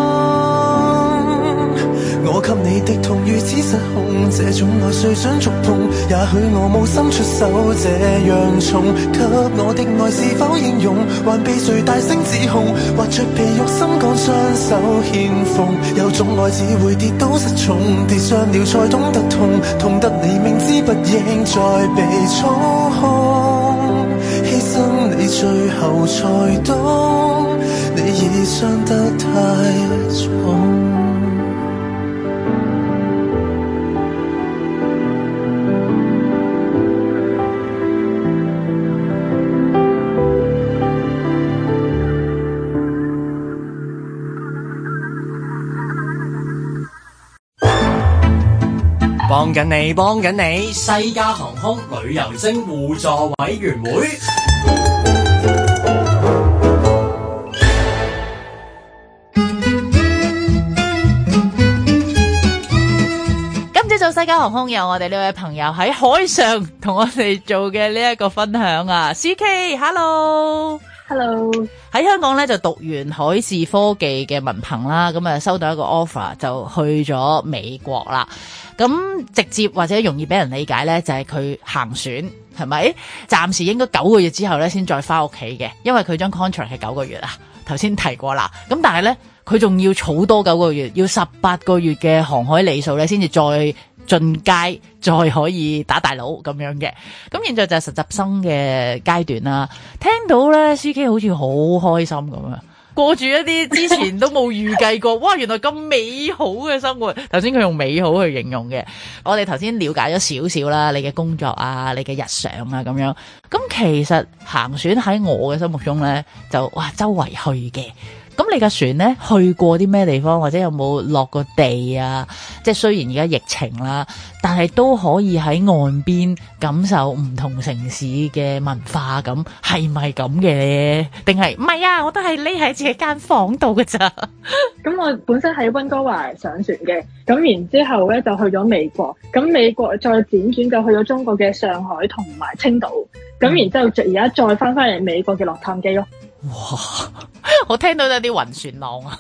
我給你的痛如此失控，這種愛誰想觸碰，也許我無心出手這樣重，給我的愛是否應用，還被誰大聲指控，挖着皮肉心肝雙手獻奉，有種愛只會跌倒失重，跌傷了才懂得痛，痛得你明知不應再被操控，犧牲你最後才懂，你已傷得太重。 幫緊你，西加航空旅遊精互助委員會。 西加航空有我哋呢位朋友喺海上同我哋做嘅呢一個分享啊 ，CK，Hello。 Hello， 喺香港咧就讀完海事科技嘅文憑啦，咁啊收到一個 offer 就去咗美國啦。咁直接或者容易俾人理解咧，就係佢行船係咪？暫時應該9個月之後咧先再翻屋企嘅，因為佢張 contract 係9個月啊。頭先提過啦，咁但係咧佢仲要儲多9個月，要18個月嘅航海里數咧，先至再進階，再可以打大佬咁樣嘅。咁現在就係實習生嘅階段啦。聽到咧 CK 好似好開心咁啊，過住一啲之前都冇預計過，哇！原來咁美好嘅生活。頭先佢用美好去形容嘅。我哋頭先了解咗少少啦，你嘅工作啊，你嘅日常啊咁樣。咁其實行船喺我嘅心目中咧，就哇周圍去嘅。咁你架船咧去過啲咩地方，或者有冇落過地啊？即係雖然而家疫情啦，但係都可以喺岸邊感受唔同城市嘅文化，咁係咪咁嘅咧？定係唔係啊？我都係匿喺自己間房度㗎咋。 咁我本身喺溫哥華上船嘅，咁然之後咧就去咗美國，咁美國再輾轉就去咗中國嘅上海同埋青島，咁然之後而家再翻嚟美國嘅洛杉磯咯。 哇！我聽到有啲暈船浪啊！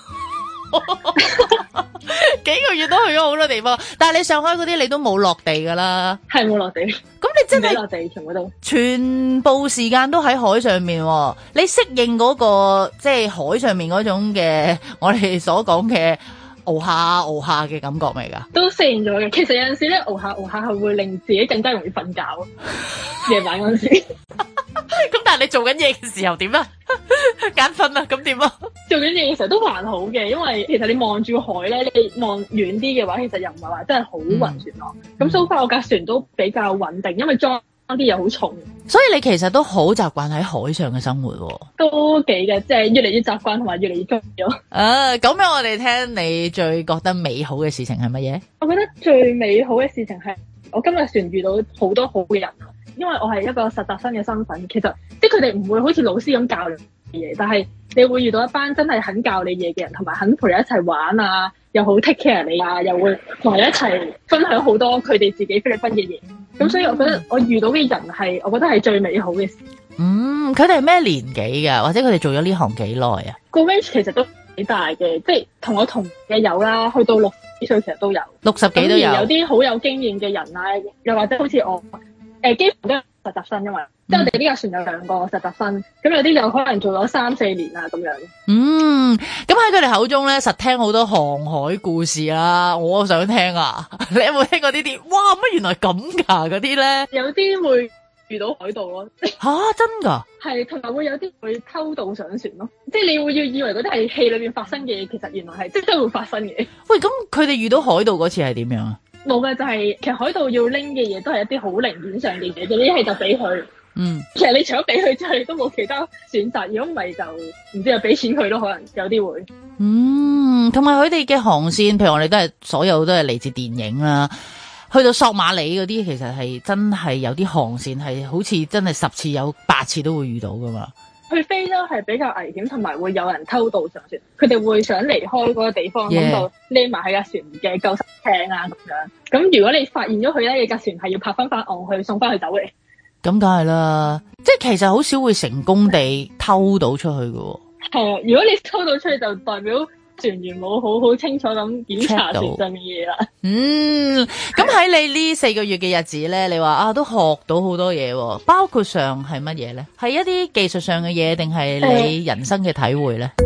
幾個月都去咗好多地方，但係你上海嗰啲你都冇落地噶啦， 係冇落地。咁你真係落地全部都全部時間都喺海上面，你適應嗰個即係海上面嗰種嘅我哋所講嘅熬下嘅感覺未噶？都適應咗嘅。其實有陣時咧熬下係會令自己更加容易瞓覺，夜晚嗰陣時。咁但係你做緊嘢嘅時候點啊？眼瞓啊？咁點啊？做緊嘢嘅時候都還好嘅，因為其實你望住海咧，你望遠啲嘅話，其實又唔係話真係好暈船咯。咁so far我架船都比較穩定，因為裝啲嘢好重，所以你其實都好習慣喺海上嘅生活喎。都幾嘅，即係越嚟越習慣同埋越嚟越中意咗。咁樣我哋聽你最覺得美好嘅事情係乜嘢？我覺得最美好嘅事情係我今日船遇到好多好嘅人。因為我係一個實習生嘅身份，其實即係佢哋唔會好似老師咁教你嘢，但係你會遇到一班真係肯教你嘢嘅人，同埋肯陪你一齊玩啊，又好 take care 你啊，又會同你一齊分享好多佢哋自己菲律賓嘅嘢。咁所以我覺得我遇到嘅人係，我覺得係最美好嘅事。佢哋係咩年紀㗎？或者佢哋做咗呢行幾耐啊？個 range 其實都幾大嘅，即係同我同嘅有啦，去到60幾歲其實都有，60幾都有。有啲好有經驗嘅人啊，又或者好似我。幾乎都係實習生，因為即係我哋呢架船有2個實習生，咁有啲有可能做咗3-4年啊咁樣。咁喺佢哋口中咧，實聽好多航海故事啦，我想聽啊！你有冇聽過呢啲？哇，乜原來咁㗎嗰啲咧？有啲會遇到海盜咯。吓，真㗎？係，同埋會有啲會偷渡上船咯。即係你會以為嗰啲係戲裏面發生嘅嘢，其實原來係即係會發生嘅。喂，咁佢哋遇到海盜嗰次係點樣啊？冇嘅，就係其實海盜要拎嘅嘢都係一啲好零件上嘅嘢，一係就俾佢。其實你除咗俾佢之後，你都冇其他選擇。如果唔係就唔知又俾錢佢咯，可能有啲會。同埋佢哋嘅航線，譬如我哋都係所有都係嚟自電影啦。去到索馬里嗰啲，其實係真係有啲航線係好似真係10次有8次都會遇到噶嘛。去非洲係比較危險，同埋會有人偷渡上船。佢哋會想離開嗰個地方，咁就匿埋喺架船嘅救生艇啊咁樣。咁如果你發現咗佢咧，你架船係要泊翻岸去送翻佢走嚟。咁梗係啦，即係其實好少會成功地偷到出去嘅。係啊，如果你偷到出去，就代表船員冇好清楚咁檢查船上面嘢啦。咁喺你呢4個月嘅日子咧，你話都學到好多嘢，包括上係乜嘢咧？係一啲技術上嘅嘢，定係你人生嘅體會咧？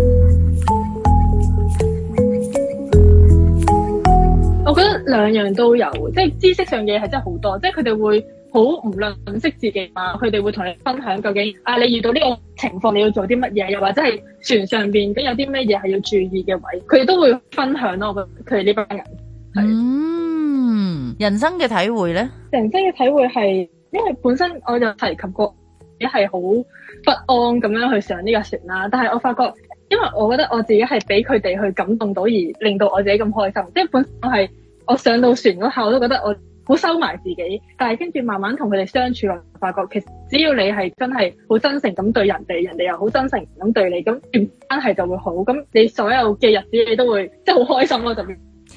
我覺得2樣都有，即係知識上嘅嘢係真係好多，即係佢哋會好唔吝嗇自己嘛，佢哋會同你分享究竟你遇到呢個情況你要做啲乜嘢，又或者係船上邊咁有啲咩嘢係要注意嘅位，佢哋都會分享咯。我覺得佢哋呢班人係人生嘅體會咧，人生嘅體會係因為本身我就提及過，你係好不安咁樣去上呢架船啦，但係我發覺。因為我覺得我自己係俾佢哋去感動到，而令到我自己咁開心。即係本身我上到船嗰下，我都覺得我好收埋自己。但係跟住慢慢同佢哋相處，我發覺其實只要你係真係好真誠咁對人哋，人哋又好真誠咁對你，咁關係就會好。咁你所有嘅日子你都會即係好開心咯，就變。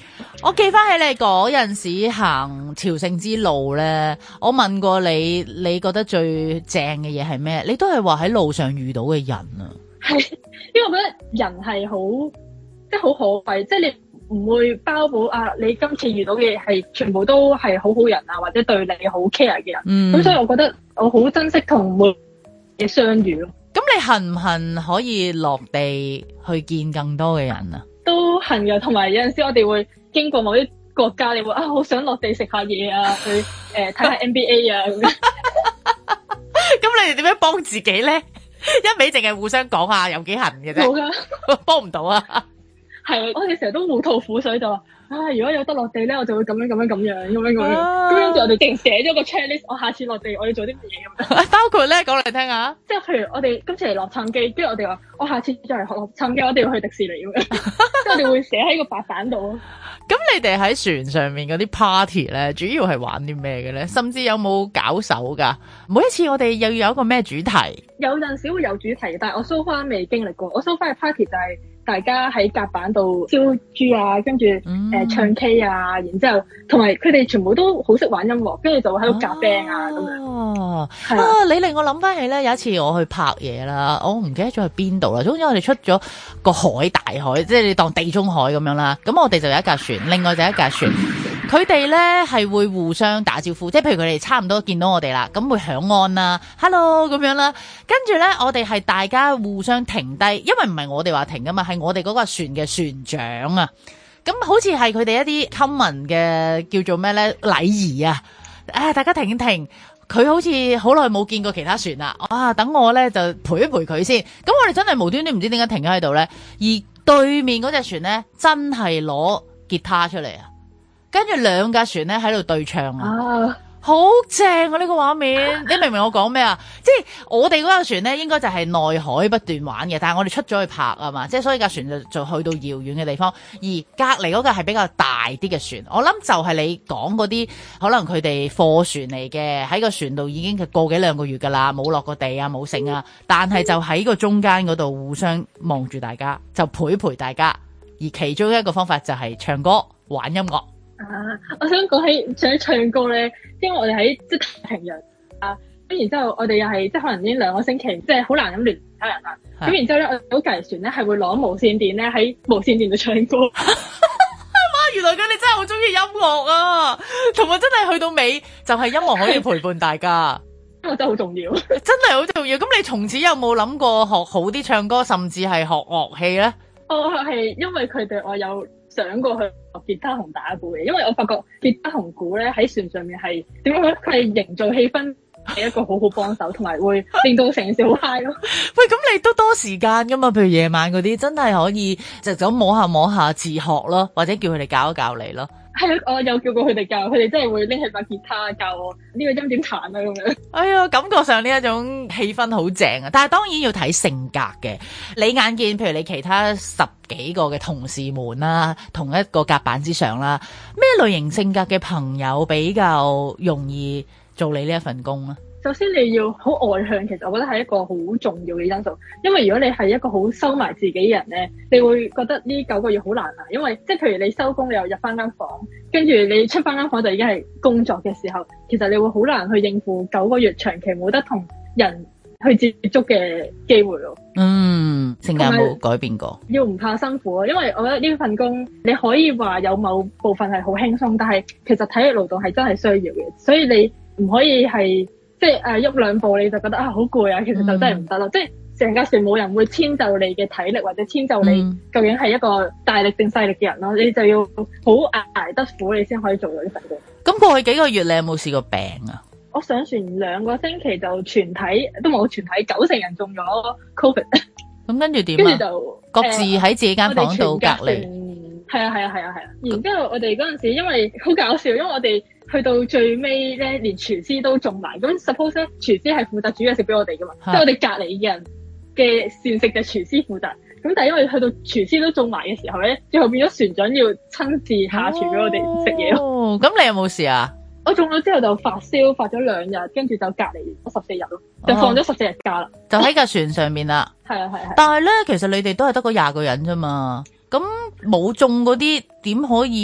我記翻起你嗰陣時行朝聖之路咧，我問過你，你覺得最正嘅嘢係咩？你都係話喺路上遇到嘅人啊。 係，因為我覺得人係好，即係好可貴，即係你唔會包保啊！你今次遇到嘅嘢係全部都係好好人啊，或者對你好 care 嘅人。咁所以我覺得我好珍惜同每嘅相遇咯。 咁你恨唔恨可以落地去見更多嘅人啊？ 都恨嘅，同埋有陣時我哋會經過某啲國家，你會好想落地食下嘢啊，去睇下 NBA 啊咁樣。 咁你哋點樣幫自己咧？一味淨係互相講下有幾恨嘅啫，冇噶，幫唔到啊。 係，我哋成日都互吐苦水，就話如果有得落地咧，我就會咁樣。咁跟住我哋淨寫咗個 checklist，我下次落地我要做啲乜嘢咁樣。包括咧，講嚟聽下。即係譬如我哋今次嚟洛杉磯，跟住我哋話我下次再嚟學洛杉磯，我哋要去迪士尼咁樣。即係我哋會寫喺個白板度。咁你哋喺船上面嗰啲 party 咧，主要係玩啲咩嘅咧？甚至有冇搞手噶？每一次我哋又要有一個咩主題？有陣時會有主題，但係我 so far 未經歷過。我 so far 嘅 party 就係大家喺甲板度燒豬啊，跟住唱 K 啊，然之後同埋佢哋全部都好識玩音樂，跟住就會喺度夾 band 啊咁樣。哦，你令我諗翻起咧，有一次我去拍嘢啦，我唔記得咗去邊度啦。總之我哋出咗個海，大海，即係你當地中海咁樣啦。咁我哋就有一架船，另外就一架船。佢哋咧係會互相打招呼，即係譬如佢哋差唔多見到我哋啦，咁會響安啦 ，hello 咁樣啦。跟住咧，我哋係大家互相停低，因為唔係我哋話停噶嘛，係我哋嗰個船嘅船長啊。咁好似係佢哋一啲 common 嘅叫做咩咧禮儀啊。大家停一停，佢好似好耐冇見過其他船啦。等我咧就陪一陪佢先。咁我哋真係無端端唔知點解停咗喺度咧，而對面嗰隻船咧真係攞吉他出嚟啊！跟住兩架船咧喺度對唱啊，好正啊！呢個畫面，你明唔明我講咩啊？即係我哋嗰架船咧，應該就係內海不斷玩嘅，但係我哋出咗去拍啊嘛，即係所以架船就去到遙遠嘅地方，而隔離嗰架係比較大啲嘅船。我諗就係你講嗰啲，可能佢哋貨船嚟嘅，喺個船度已經個幾兩個月噶啦，冇落過地啊，冇剩啊，但係就喺個中間嗰度互相望住大家，就陪大家。而其中一個方法就係唱歌、玩音樂。我想講起想唱歌咧，因為我哋喺即係太平洋啊，咁然之後我哋又係即係可能已經2個星期，即係好難咁聯其他人啦。咁然之後咧，我隔離船咧係會攞無線電咧喺無線電度唱歌。媽，原來佢哋真係好中意音樂啊！同埋真係去到尾就係音樂可以陪伴大家，音樂真係好重要，真係好重要。咁你從此有冇諗過學好啲唱歌，甚至係學樂器咧？我係因為佢哋，我有想過去學吉他同打鼓嘅，因為我發覺吉他同鼓咧喺船上面係點樣咧？佢係營造氣氛係一個好好幫手，同埋會令到成件事好 high 咯。喂，咁你都多時間噶嘛？譬如夜晚嗰啲，真係可以就咁摸下自學咯，或者叫佢哋教一教你咯。係啊，我有叫過佢哋教，佢哋真係會拎起把吉他教我呢個音點彈啊咁樣。哎呀，感覺上呢一種氣氛好正啊！但係當然要睇性格嘅。你眼見譬如你其他10幾個嘅同事們啦，同一個甲板之上啦，咩類型性格嘅朋友比較容易做你呢一份工啊？首先你要好外向，其實我覺得係一個好重要嘅因素。因為如果你係一個好收埋自己嘅人咧，你會覺得呢9個月好難啊。因為即係譬如你收工，你又入翻間房，跟住你出翻間房就已經係工作嘅時候，其實你會好難去應付9個月長期冇得同人去接觸嘅機會咯。性格冇改變過，要唔怕辛苦啊。因為我覺得呢份工你可以話有某部分係好輕鬆，但係其實體力勞動係真係需要嘅，所以你唔可以係。即係喐2步你就覺得好攰啊，其實就真係唔得咯。即係成架船冇人會遷就你嘅體力，或者遷就你究竟係一個大力定細力嘅人咯。你就要好捱得苦，你先可以做到呢份工。咁過去幾個月你有冇試過病啊？我上船2個星期就全體都冇，全體90%人中咗 COVID。咁跟住點啊？跟住就各自喺自己間房度隔離。係啊。然之後我哋嗰陣時因為好搞笑，因為我哋去到最尾咧，連廚師都中埋。咁 suppose 咧，廚師係負責煮嘢食俾我哋噶嘛，即係我哋隔離嘅人嘅膳食就廚師負責。咁但係因為去到廚師都中埋嘅時候咧，最後變咗船長要親自下廚俾我哋食嘢咯。咁你有冇事啊？我中咗之後就發燒，發咗2日，跟住就隔離14日咯，就放咗14日假啦。就喺架船上面啦。係啊。但係咧，其實你哋都係得嗰20個人啫嘛。咁冇中嗰啲點可以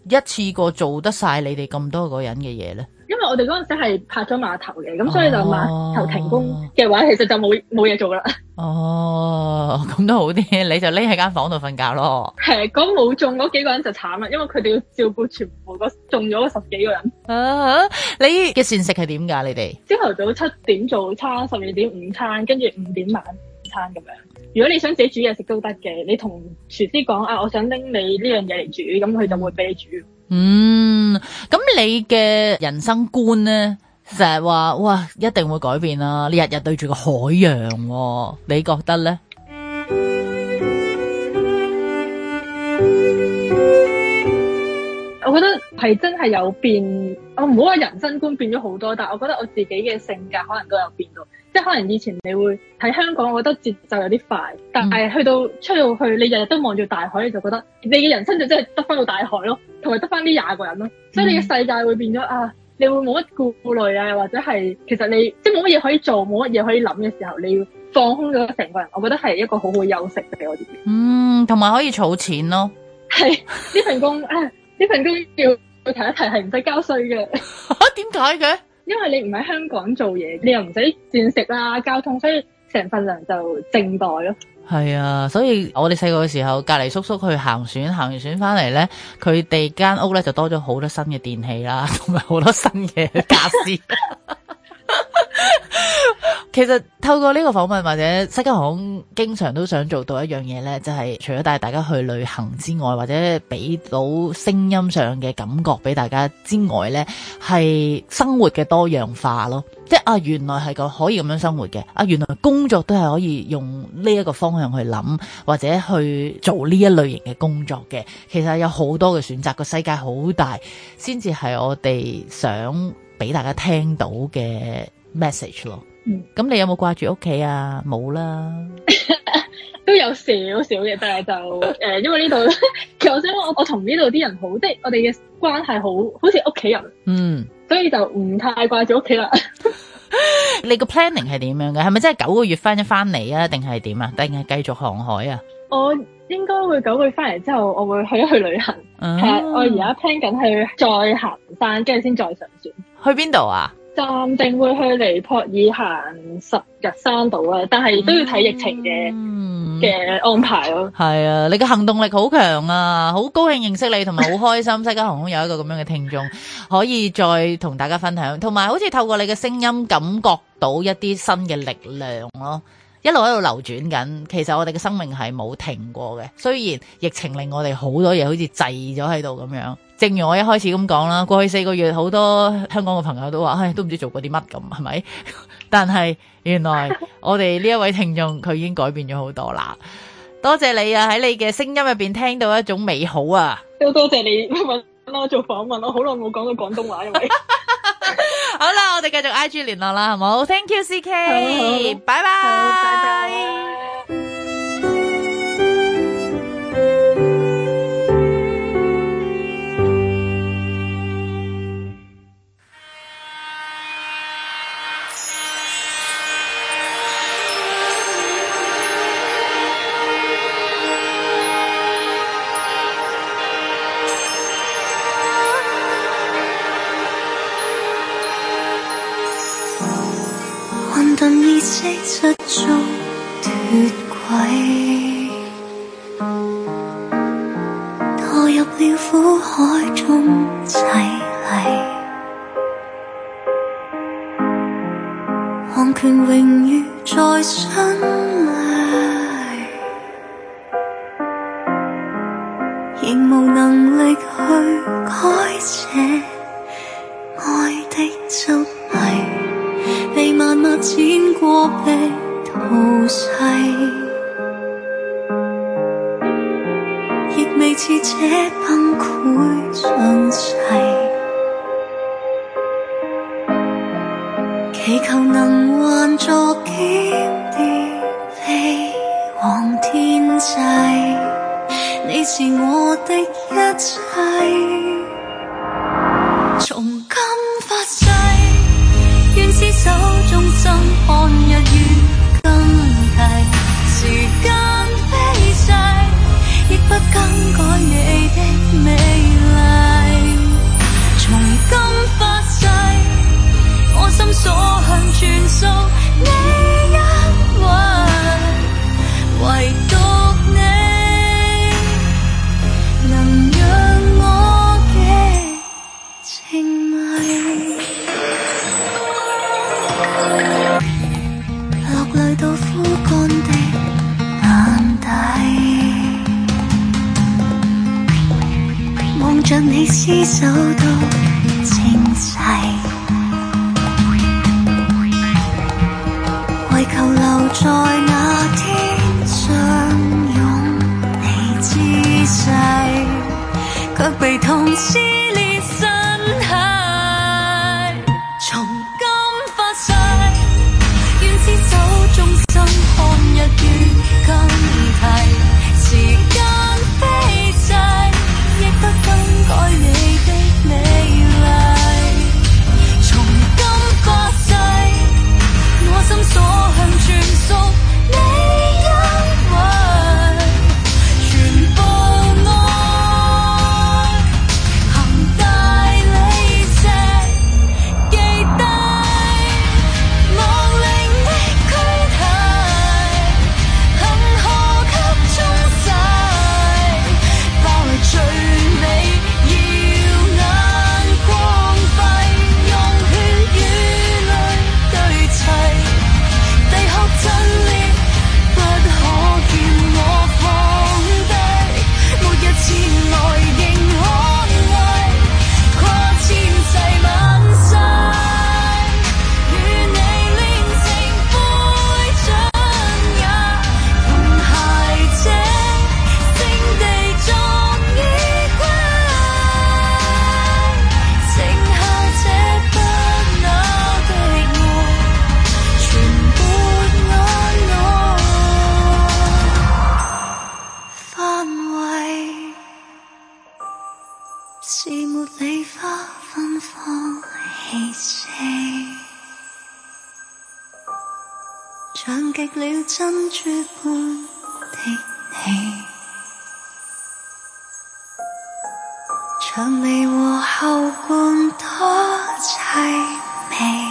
一次過做得晒你哋咁多個人嘅嘢咧？ 因為我哋嗰陣時係拍咗碼頭嘅，咁所以就碼頭停工嘅話，其實就冇嘢做啦。 哦，咁都好啲，你就匿喺間房度瞓覺咯。 係，嗰冇中嗰幾個人就慘啦，因為佢哋要照顧全部中咗10幾個人。 你嘅膳食係點㗎？你哋朝頭早7點早餐，12點午餐，跟住5點晚餐咁樣。如果你想自己煮嘢食都得嘅，你同廚師講啊，我想拎你呢樣嘢嚟煮，咁佢就會俾你煮。 咁你嘅人生觀咧，成日話哇一定會改變啦，你日日對住個海洋喎，你覺得咧？ 我覺得係真係有變，我唔好話人生觀變咗好多，但係我覺得我自己嘅性格可能都有變到，即係可能以前你會喺香港，我覺得節奏有啲快，但係出到去，你日日都望住大海，你就覺得你嘅人生就真係得翻到大海咯，同埋得翻呢20個人咯，所以你嘅世界會變咗啊，你會冇乜顧慮啊，或者係其實你即係冇乜嘢可以做，冇乜嘢可以諗嘅時候，你要放空咗成個人，我覺得係一個好好休息俾我自己。 同埋可以儲錢咯。係呢份工呢份工要提一提係唔使交稅嘅。 點解嘅？ 因為你唔喺香港做嘢，你又唔使膳食啦、交通，所以成份糧就淨袋咯。 係啊，所以我哋細個嘅時候，隔離叔叔去行船，行完船翻嚟咧，佢哋間屋咧就多咗好多新嘅電器啦，同埋好多新嘅傢俬。其實透過呢個訪問或者西加航空經常都想做到一樣嘢呢，就係除咗帶大家去旅行之外，或者俾到聲音上嘅感覺俾大家之外呢，係生活嘅多樣化咯。即係原來係可以咁樣生活嘅，原來工作都係可以用呢一個方向去諗，或者去做呢一類型嘅工作嘅。其實有好多嘅選擇，個世界好大，先至係我哋想俾大家聽到嘅 message 咯。咁你有冇掛住屋企啊？冇啦， 都有少少嘅，但係就因為呢度，其實我想我同呢度啲人好，即係我哋嘅關係好似屋企人，所以就唔太掛住屋企啦。 你個 planning 係點樣嘅？係咪真係9個月翻嚟啊？定係點啊？定係繼續航海啊？ 我應該會9個月翻嚟之後，我會去一去旅行。我而家 plan 緊去再行山，跟住先再上船。 去邊度啊？ 暫定會去尼泊爾行10日山島啊，但係都要睇疫情嘅安排咯。 係啊，你嘅行動力好強啊，好高興認識你，同埋好開心西加航空有一個咁樣嘅聽眾可以再同大家分享，同埋好似透過你嘅聲音感覺到一啲新嘅力量咯。一路喺度流轉緊，其實我哋嘅生命係冇停過嘅。雖然疫情令我哋好多嘢好似滯咗喺度咁樣，正如我一開始咁講啦，過去4個月好多香港嘅朋友都話，都唔知做過啲乜咁，係咪？但係原來我哋呢一位聽眾佢已經改變咗好多啦。多謝你啊，喺你嘅聲音入邊聽到一種美好啊！ 都多謝你揾我做訪問，我好耐冇講過廣東話，因為好啦，我哋繼續 IG 聯絡啦，好冇 ？Thank you CK，拜拜。 混沌意識失足脫軌，墮入了苦海中淒厲，皇權榮譽在心裏，仍無能力去改寫愛的執迷，被萬物剪過被淘洗，亦未似這崩潰詳細，祈求能還作經典飛往天際，你是我的一切，從今發誓，願廝守終生，看日月更替，時間飛逝，亦不更改你的美麗。 你廝守到清齊，為求留在那天相擁你姿勢，卻被痛撕裂身體。從今發誓，願廝守終生，看日月更替。時間飛逝，亦不更改你的美麗。從今發誓，我心所向全屬你，因為全部愛行大理石，記低亡靈的軀體，恆河給沖洗，包圍最美耀眼光輝，用血與淚對齊，地殼震裂，不可叫我放低，末日前來仍可愛，跨千世萬世，與你煉成灰燼也同諧者，聖地葬衣櫃，剩下這不朽的愛，全沒眼內範圍，是茉莉花芬芳氣息，像極了珍珠般的你，薔薇和後冠多淒美，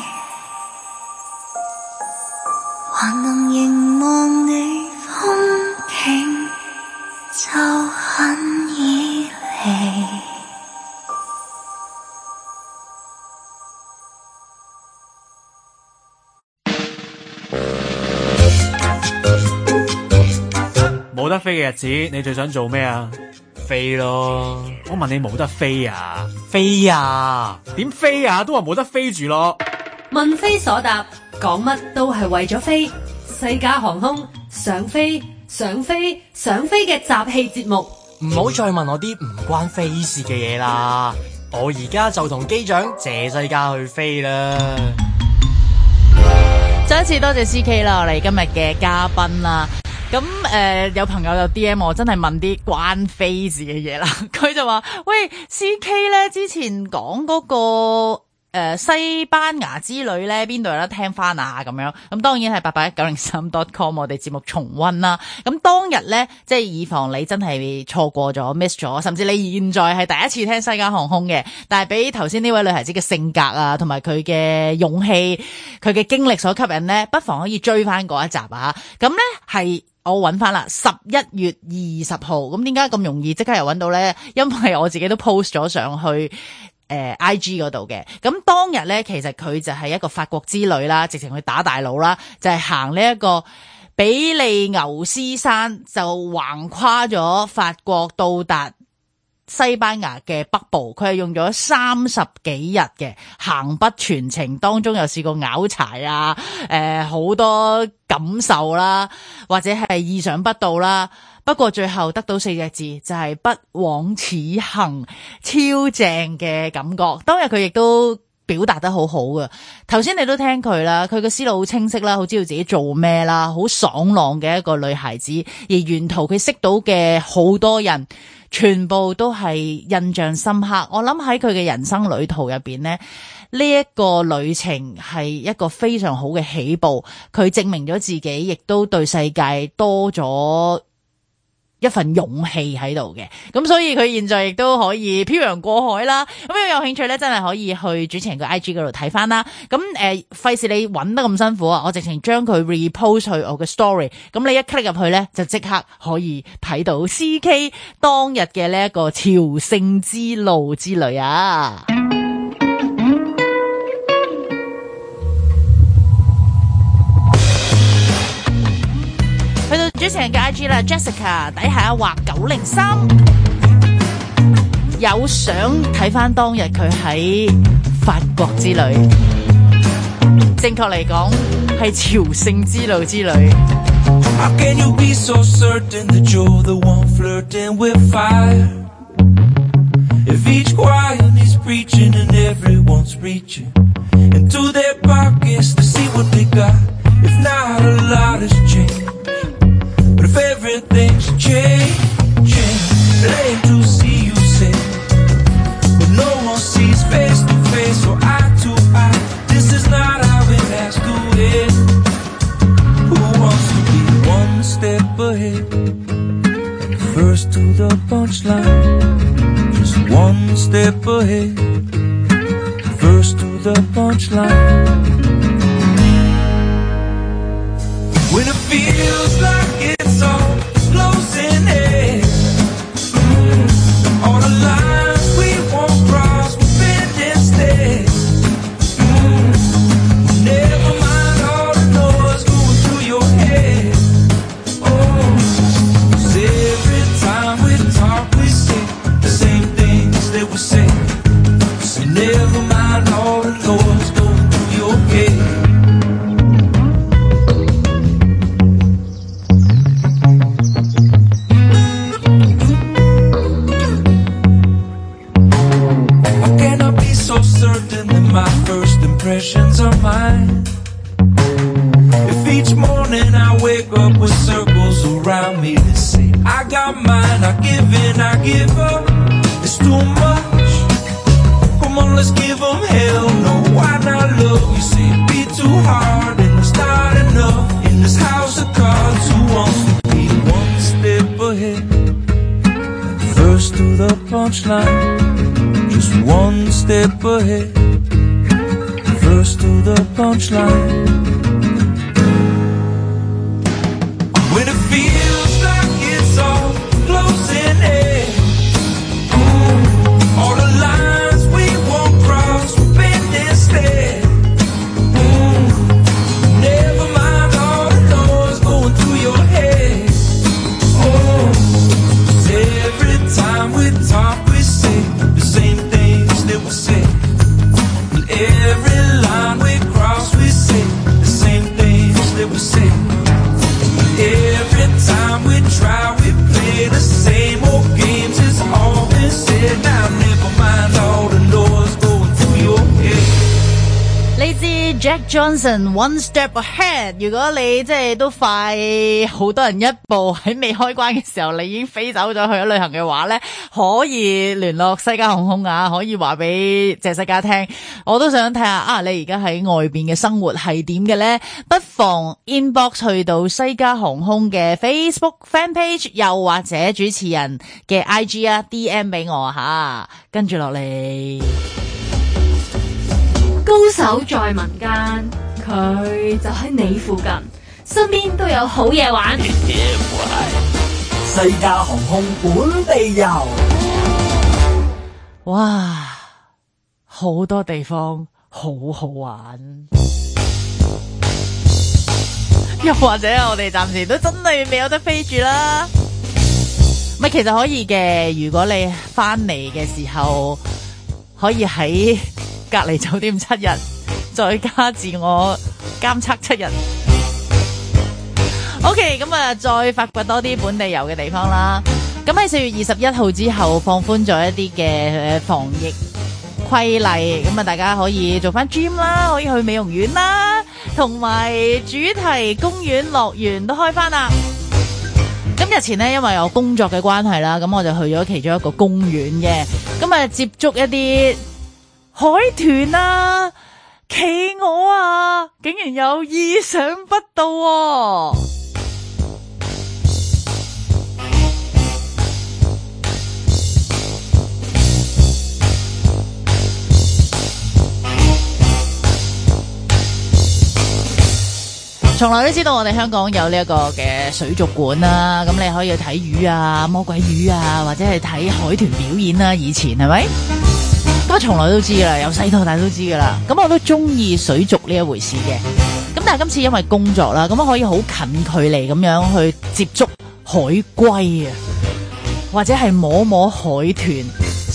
還能凝望你風景就很依離。 冇得飛嘅日子，你最想做咩啊？飛咯！我問你冇得飛啊？飛啊？點飛啊？都話冇得飛住咯。 問非所答，講乜都係為咗飛。西加航空想飛想飛想飛嘅集氣節目， 唔好再問我啲唔關飛事嘅嘢啦。我而家就同機長謝西加去飛啦。 再一次多謝 CK 啦，我哋今日嘅嘉賓啦。咁有朋友就 DM 我，真係問啲關飛事嘅嘢啦。佢就話：喂 CK 咧，之前講嗰個西班牙之旅咧，邊度有得聽翻啊？咁樣咁當然係8819035.com 我哋節目重溫啦。咁當日咧，即係以防你真係錯過咗 miss 咗，甚至你現在係第一次聽西加航空嘅，但係俾頭先呢位女孩子嘅性格啊，同埋佢嘅勇氣、佢嘅經歷所吸引咧，不妨可以追翻嗰一集啊。咁咧係。我揾翻啦，11月20號，咁點解咁容易即刻又揾到呢？因為我自己都 post 咗上去IG 嗰度嘅。咁當日呢，其實佢就係一個法國之旅啦，直情去打大佬啦，就係行呢一個比利牛斯山，就橫跨咗法國到達西班牙嘅北部，佢係用咗30幾日嘅行北全程，當中又試過拗柴啊，好多感受啦，或者係意想不到啦。不過最後得到4隻字，就係不枉此行，超正嘅感覺。當日佢亦都表達得好好嘅，頭先你都聽佢啦，佢嘅思路好清晰啦，好知道自己做咩啦，好爽朗嘅一個女孩子。而沿途佢識到嘅好多人，全部都係印象深刻。我諗喺佢嘅人生旅途入邊呢，呢一個旅程係一個非常好嘅起步。佢證明咗自己，亦都對世界多咗一份勇氣喺度嘅。咁所以佢現在亦都可以漂洋過海啦。咁如果有興趣咧，真係可以去主持人個 IG 嗰度睇翻啦。咁費事你揾得咁辛苦啊，我直情將佢 repost 去我嘅 story。咁你一 click 入去咧，就即刻可以睇到 CK 當日嘅呢一個朝聖之路之旅啊！去到主持人嘅 IG 啦 ，Jessica 底下畫903。 有想睇翻當日佢喺法國之旅，正確嚟講係朝聖之路之旅。 How can you be so certain that you're the one flirting with fire? If each choir needs preaching and everyone's reaching into their pockets to see what they got. If not, a lot has changed. But if everything's changing, lame to see you say, but no one sees face to face or eye to eye. This is not how it has to end. Who wants to be one step ahead and first to the punchline? Just one step ahead, first to the punchline. When it feels like it's all closing in, all the lines we won't cross, we bend instead. Never mind all the noise going through your head. Oh, 'cause every time we talk we say the same things that we say. So never mind all the noise going through your head. My first impressions are mine. If each morning I wake up with circles around me that say I got mine, I give in, I give up, it's too much. Come on, let's give them hell. No, why not love? You say it be too hard and it's not enough. In this house of cards, who wants to be one step ahead and first to the punchline? Just one step ahead, first to the punchline. When it feels like it's all closing in, all the lines we won't cross, we bend instead. Never mind all the noise going through your head. Oh, 'cause every time we talk we say the same things that we say. Every line we cross, we say the same things that we say. Every time we try, we play the same old games. It's all been said. Now never mind all the noise going through your head. 嚟自 Jack Johnson One Step Ahead。如果你即係都快好多人一步喺未開關嘅時候，你已經飛走咗去咗旅行嘅話呢，可以聯絡西加航空啊，可以話俾謝世嘉聽。我都想睇下啊，你而家喺外邊嘅生活係點嘅呢？不妨 inbox 去到西加航空嘅 Facebook fan page， 又或者主持人嘅 IG 啊 DM 俾我吓。跟住落嚟。 高手在民間，佢就喺你附近，身邊都有好嘢玩。 西加航空本地遊， 哇，好多地方好好玩。又或者我哋暫時都真係未有得飛住啦。咪其實可以嘅，如果你翻嚟嘅時候可以喺隔離酒店7日，再加自我監測7日。OK， 咁啊，再發掘多啲本地遊嘅地方啦。咁喺4月21號之後放寬咗一啲嘅防疫規例，咁啊大家可以做翻 gym 啦，可以去美容院啦，同埋主題公園樂園都開翻啦。咁日前呢，因為我工作嘅關係啦，咁我就去咗其中一個公園嘅，咁啊接觸一啲海豚啊、企鵝啊，竟然有意想不到喎！從來都知道我哋香港有呢一個嘅水族館啦，咁你可以去睇魚啊、魔鬼魚啊，或者係睇海豚表演啦。以前係咪？咁我從來都知噶啦，由細到大都知噶啦。咁我都中意水族呢一回事嘅。咁但係今次因為工作啦，咁我可以好近距離咁樣去接觸海龜啊，或者係摸摸海豚，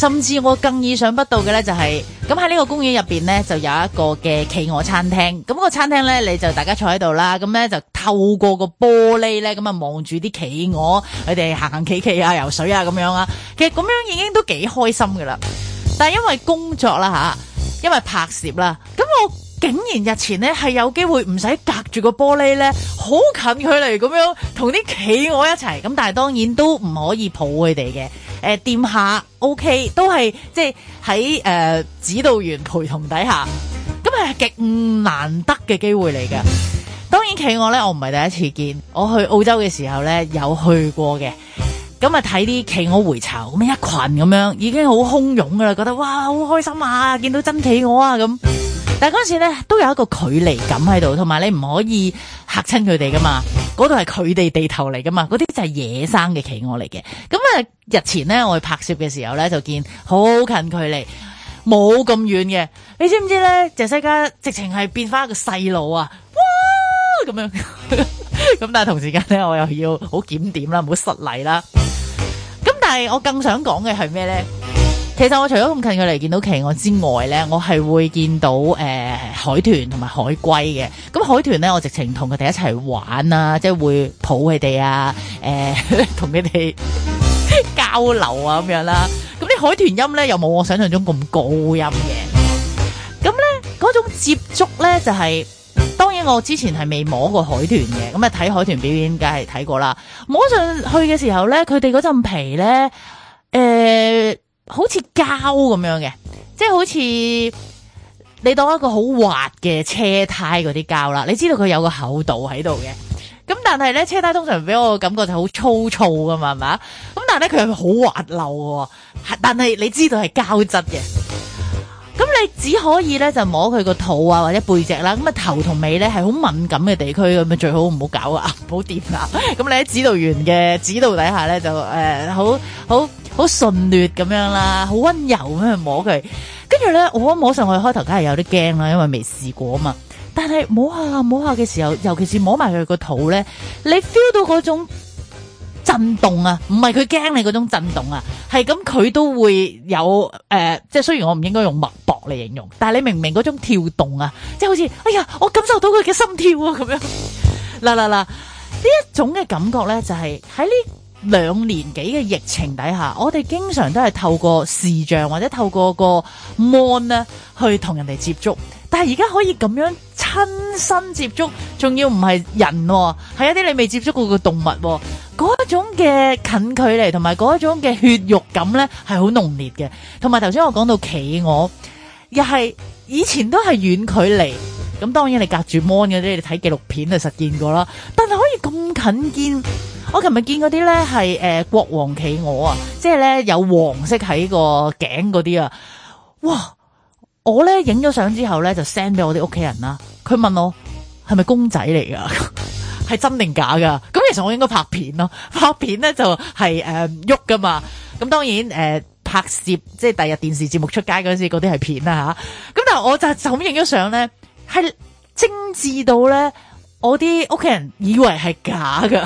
甚至我更意想不到嘅咧就係咁喺呢個公園入邊咧就有一個嘅企鵝餐廳，咁個餐廳咧你就大家坐喺度啦，咁咧就透過個玻璃咧咁啊望住啲企鵝佢哋行行企啊游水啊咁樣啊，其實咁樣已經都幾開心噶啦。但係因為工作啦吓，因為拍攝啦，咁我竟然日前咧係有機會唔使隔住個玻璃咧，好近距離咁樣同啲企鵝一齊，咁但係當然都唔可以抱佢哋嘅。掂下 OK， 都係即係喺指導員陪同底下，咁係極難得嘅機會嚟嘅。當然企鵝咧，我唔係第一次見，我去澳洲嘅時候咧有去過嘅。咁啊睇啲企鵝回巢咁一群咁樣，已經好洶湧噶啦，覺得哇好開心啊，見到真企鵝啊咁。但係嗰陣時咧都有一個距離感喺度，同埋你唔可以嚇親佢哋噶嘛，嗰度係佢哋地頭嚟噶嘛，嗰啲就係野生嘅企鵝嚟嘅。咁啊日前咧我去拍攝嘅時候咧就見好近距離，冇咁遠嘅。你知唔知咧？謝西嘉直情係變翻一個細路啊！哇咁樣，咁但係同時間咧我又要好檢點啦，唔好失禮啦。咁但係我更想講嘅係咩咧？其實我除咗咁近距離見到企鵝之外咧，我係會見到海豚同埋海龜嘅。咁海豚咧，我直情同佢哋一齊玩啊，即係會抱佢哋啊，同佢哋交流啊咁樣啦。咁啲海豚音咧又冇我想象中咁高音嘅。咁咧嗰種接觸咧就係、當然我之前係未摸過海豚嘅，咁啊睇海豚表演梗係睇過啦。摸上去嘅時候咧，佢哋嗰陣皮咧，好似膠咁樣嘅，即係好似你當一個好滑嘅車胎嗰啲膠啦。你知道佢有個厚度喺度嘅，咁但係咧車胎通常俾我感覺就好粗糙噶嘛，係嘛？咁但係咧佢係好滑溜嘅，但係你知道係膠質嘅。咁你只可以咧就摸佢個肚啊或者背脊啦，咁啊頭同尾咧係好敏感嘅地區，咁啊最好唔好搞啊，唔好掂啊。咁你喺指導員嘅指導底下咧就好順劣咁樣啦，好溫柔咁樣去摸佢。跟住咧我摸上去開頭梗係有啲驚啦，因為未試過啊嘛。但係摸下嘅時候，尤其是摸埋佢個肚咧，你 feel 到嗰種震動啊，唔係佢驚你嗰種震動啊，係咁佢都會有即係雖然我唔應該用脈搏嚟形容，但係你明唔明嗰種跳動啊？即係好似哎呀，我感受到佢嘅心跳啊咁樣。嗱呢一種嘅感覺咧，就係喺呢2年幾嘅疫情底下，我哋經常都係透過視像或者透過個 mon 咧去同人哋接觸，但係而家可以咁樣親身接觸，仲要唔係人喎，係一啲你未接觸過嘅動物喎，嗰種嘅近距離同埋嗰種嘅血肉感咧係好濃烈嘅。同埋頭先我講到企鵝，又係以前都係遠距離，咁當然你隔住 mon 嗰啲，你睇紀錄片就實見過啦，但係可以咁近見。我琴日見嗰啲咧係國王企鵝啊，即係咧有黃色喺個頸嗰啲啊，哇！我咧影咗相之後咧就 send 俾我啲屋企人啦，佢問我係咪公仔嚟噶，係真定假噶？咁其實我應該拍片咯，拍片咧就係喐噶嘛。咁當然拍攝即係第日電視節目出街嗰陣時嗰啲係片啦吓。咁但係我就咁影咗相咧，係精緻到咧我啲屋企人以為係假噶。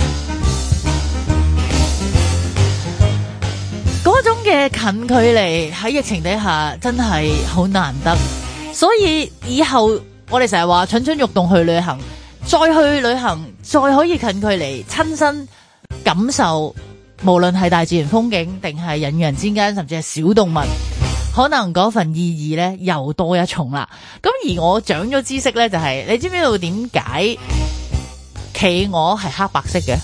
嗰種嘅近距離喺疫情底下真係好難得，所以以後我哋成日話蠢蠢欲動去旅行，再去旅行，再可以近距離親身感受，無論係大自然風景定係人與人之間，甚至係小動物，可能嗰份意義咧又多一重啦。咁而我長咗知識咧，就係你知唔知道點解企鵝係黑白色嘅？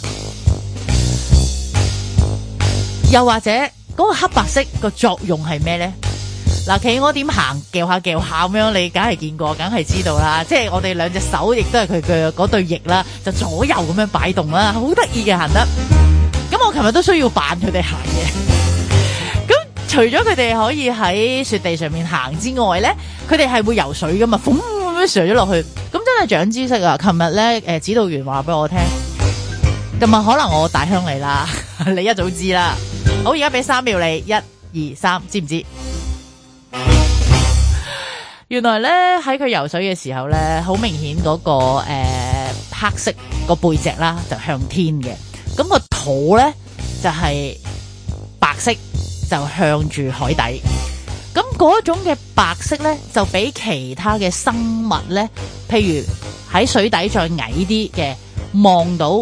又或者嗰個黑白色個作用係咩咧？嗱，企鵝點行，叫下咁樣，你梗係見過，梗係知道啦。即係我哋兩隻手亦都係佢嘅嗰對翼啦，就左右咁樣擺動啦，好得意嘅行得。咁我琴日都需要扮佢哋行嘅。咁除咗佢哋可以喺雪地上面行之外咧，佢哋係會游水噶嘛，咁樣上咗落去，咁真係長知識啊！琴日咧，指導員話俾我聽，咁啊可能我大鄉里啦，你一早知啦。好，而家俾3秒你，1、2、3，知唔知？原來咧喺佢游水嘅時候咧，好明顯嗰個黑色個背脊啦就向天嘅，咁個肚咧就係白色，就就向住海底。咁嗰種嘅白色咧，就比其他嘅生物咧，譬如喺水底再矮啲嘅，望到，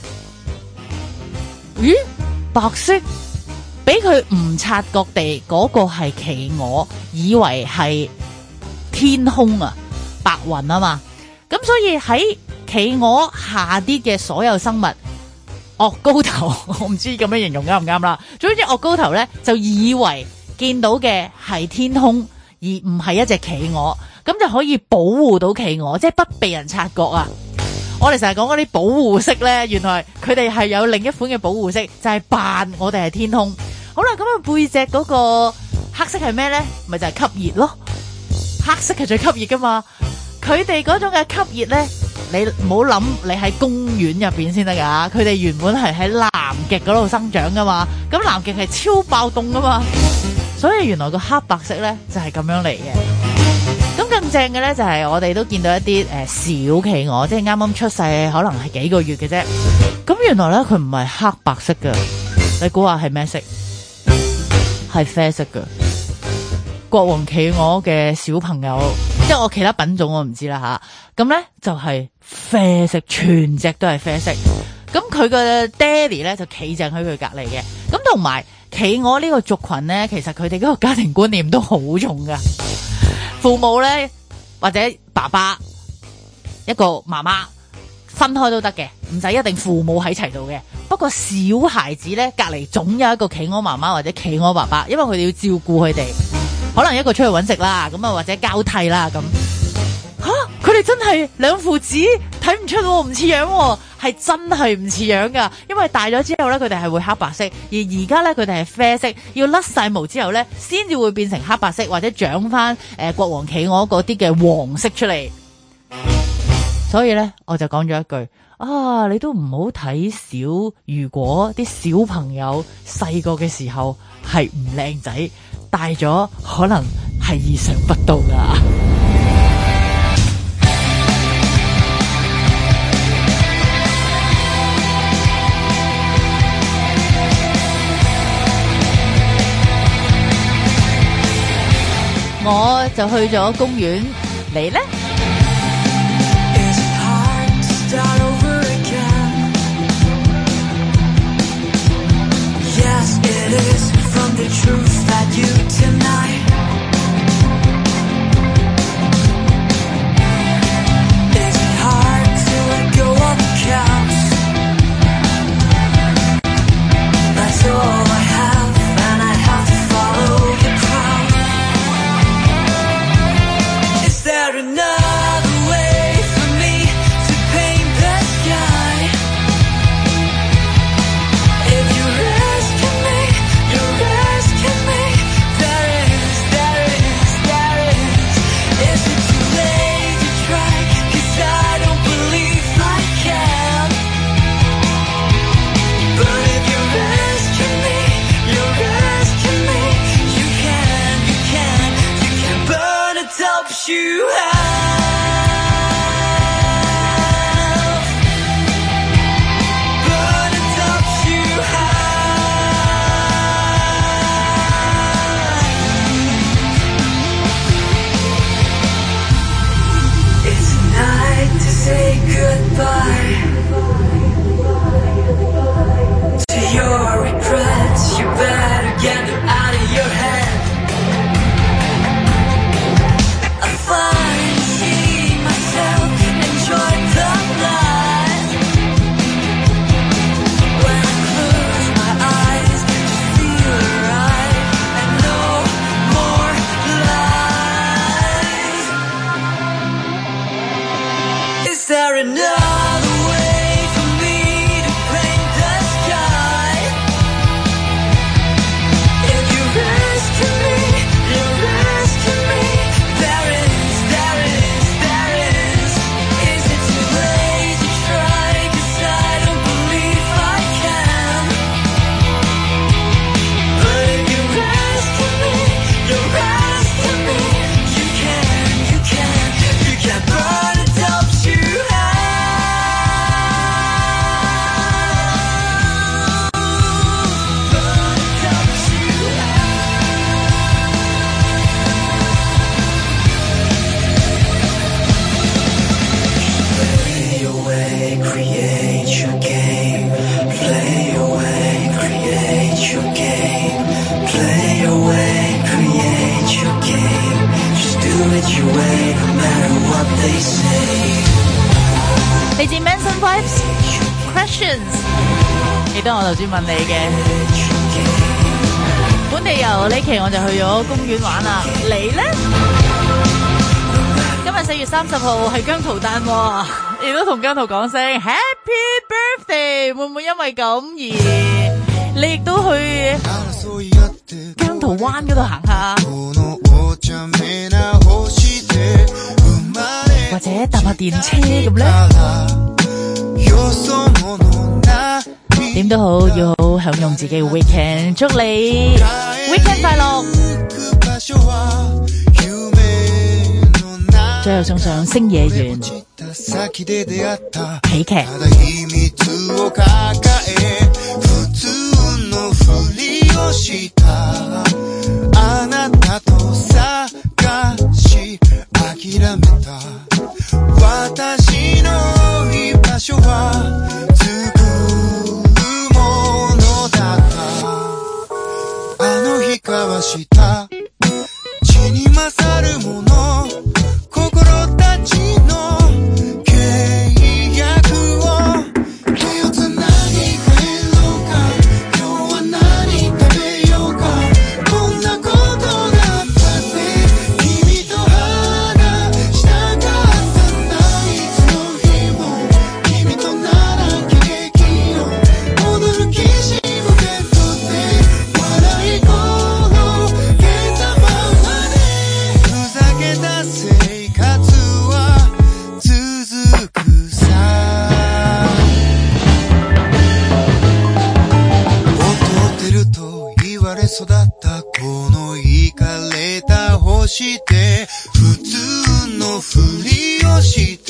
咦，白色，俾佢唔察覺地嗰個係企鵝，以為係天空啊，白雲啊嘛。咁所以喺企鵝下啲嘅所有生物，岳高頭，我唔知咁樣形容啱唔啱啦。總之岳高頭咧，就以為見到嘅係天空，而唔係一隻企鵝，咁就可以保護到企鵝，即係不被人察覺啊！我哋成日講嗰啲保護色咧，原來佢哋係有另一款嘅保護色，就係扮我哋係天空。好啦，咁啊背脊嗰個黑色係咩咧？咪就係吸熱咯，黑色係最吸熱噶嘛。佢哋嗰種嘅吸熱咧，你唔好諗你喺公園入邊先得噶，佢哋原本係喺南極嗰度生長噶嘛，咁南極係超爆凍噶嘛。所以原來個黑白色咧就係咁樣嚟嘅。咁更正嘅咧就係我哋都見到一啲小企鵝，即係啱啱出世，可能係幾個月嘅啫。咁原來咧佢唔係黑白色嘅，你估下係咩色？係啡色嘅。國王企鵝嘅小朋友，即係我其他品種我唔知啦吓。咁咧就係啡色，全隻都係啡色。咁佢個爹哋咧就企正喺佢隔籬嘅。咁同埋企鵝呢個族群咧，其實佢哋嗰個家庭觀念都好重噶。父母咧或者爸爸一個媽媽分開都得嘅，唔使一定父母喺齊度嘅。不過小孩子咧隔籬總有一個企鵝媽媽或者企鵝爸爸，因為佢哋要照顧佢哋。可能一個出去搵食啦，咁啊或者交替啦咁。佢哋真係兩父子，睇唔出唔似樣，係真係唔似樣噶。因為大咗之後咧，佢哋係會黑白色，而而家咧佢哋係啡色，要甩晒毛之後咧，先至會變成黑白色，或者長翻國王企鵝嗰啲嘅黃色出嚟。所以咧，我就講咗一句啊，你都唔好睇小，如果啲小朋友細個嘅時候係唔靚仔，大咗可能係意想不到噶。我就去咗公園，你呢？ Rescue me, Next questions， 記得我頭先問你嘅本地遊呢期我就去咗公園玩啦，你呢？今日4月30號係姜濤誕喎，亦都同姜濤講聲 Happy Birthday， 會唔會因為咁而你亦都去姜濤灣嗰度行下，或者搭下電車咁呢？點都好，要好享用自己嘅 weekend， 祝你 weekend 快樂。最後送上星野源喜劇。 普通のふりをして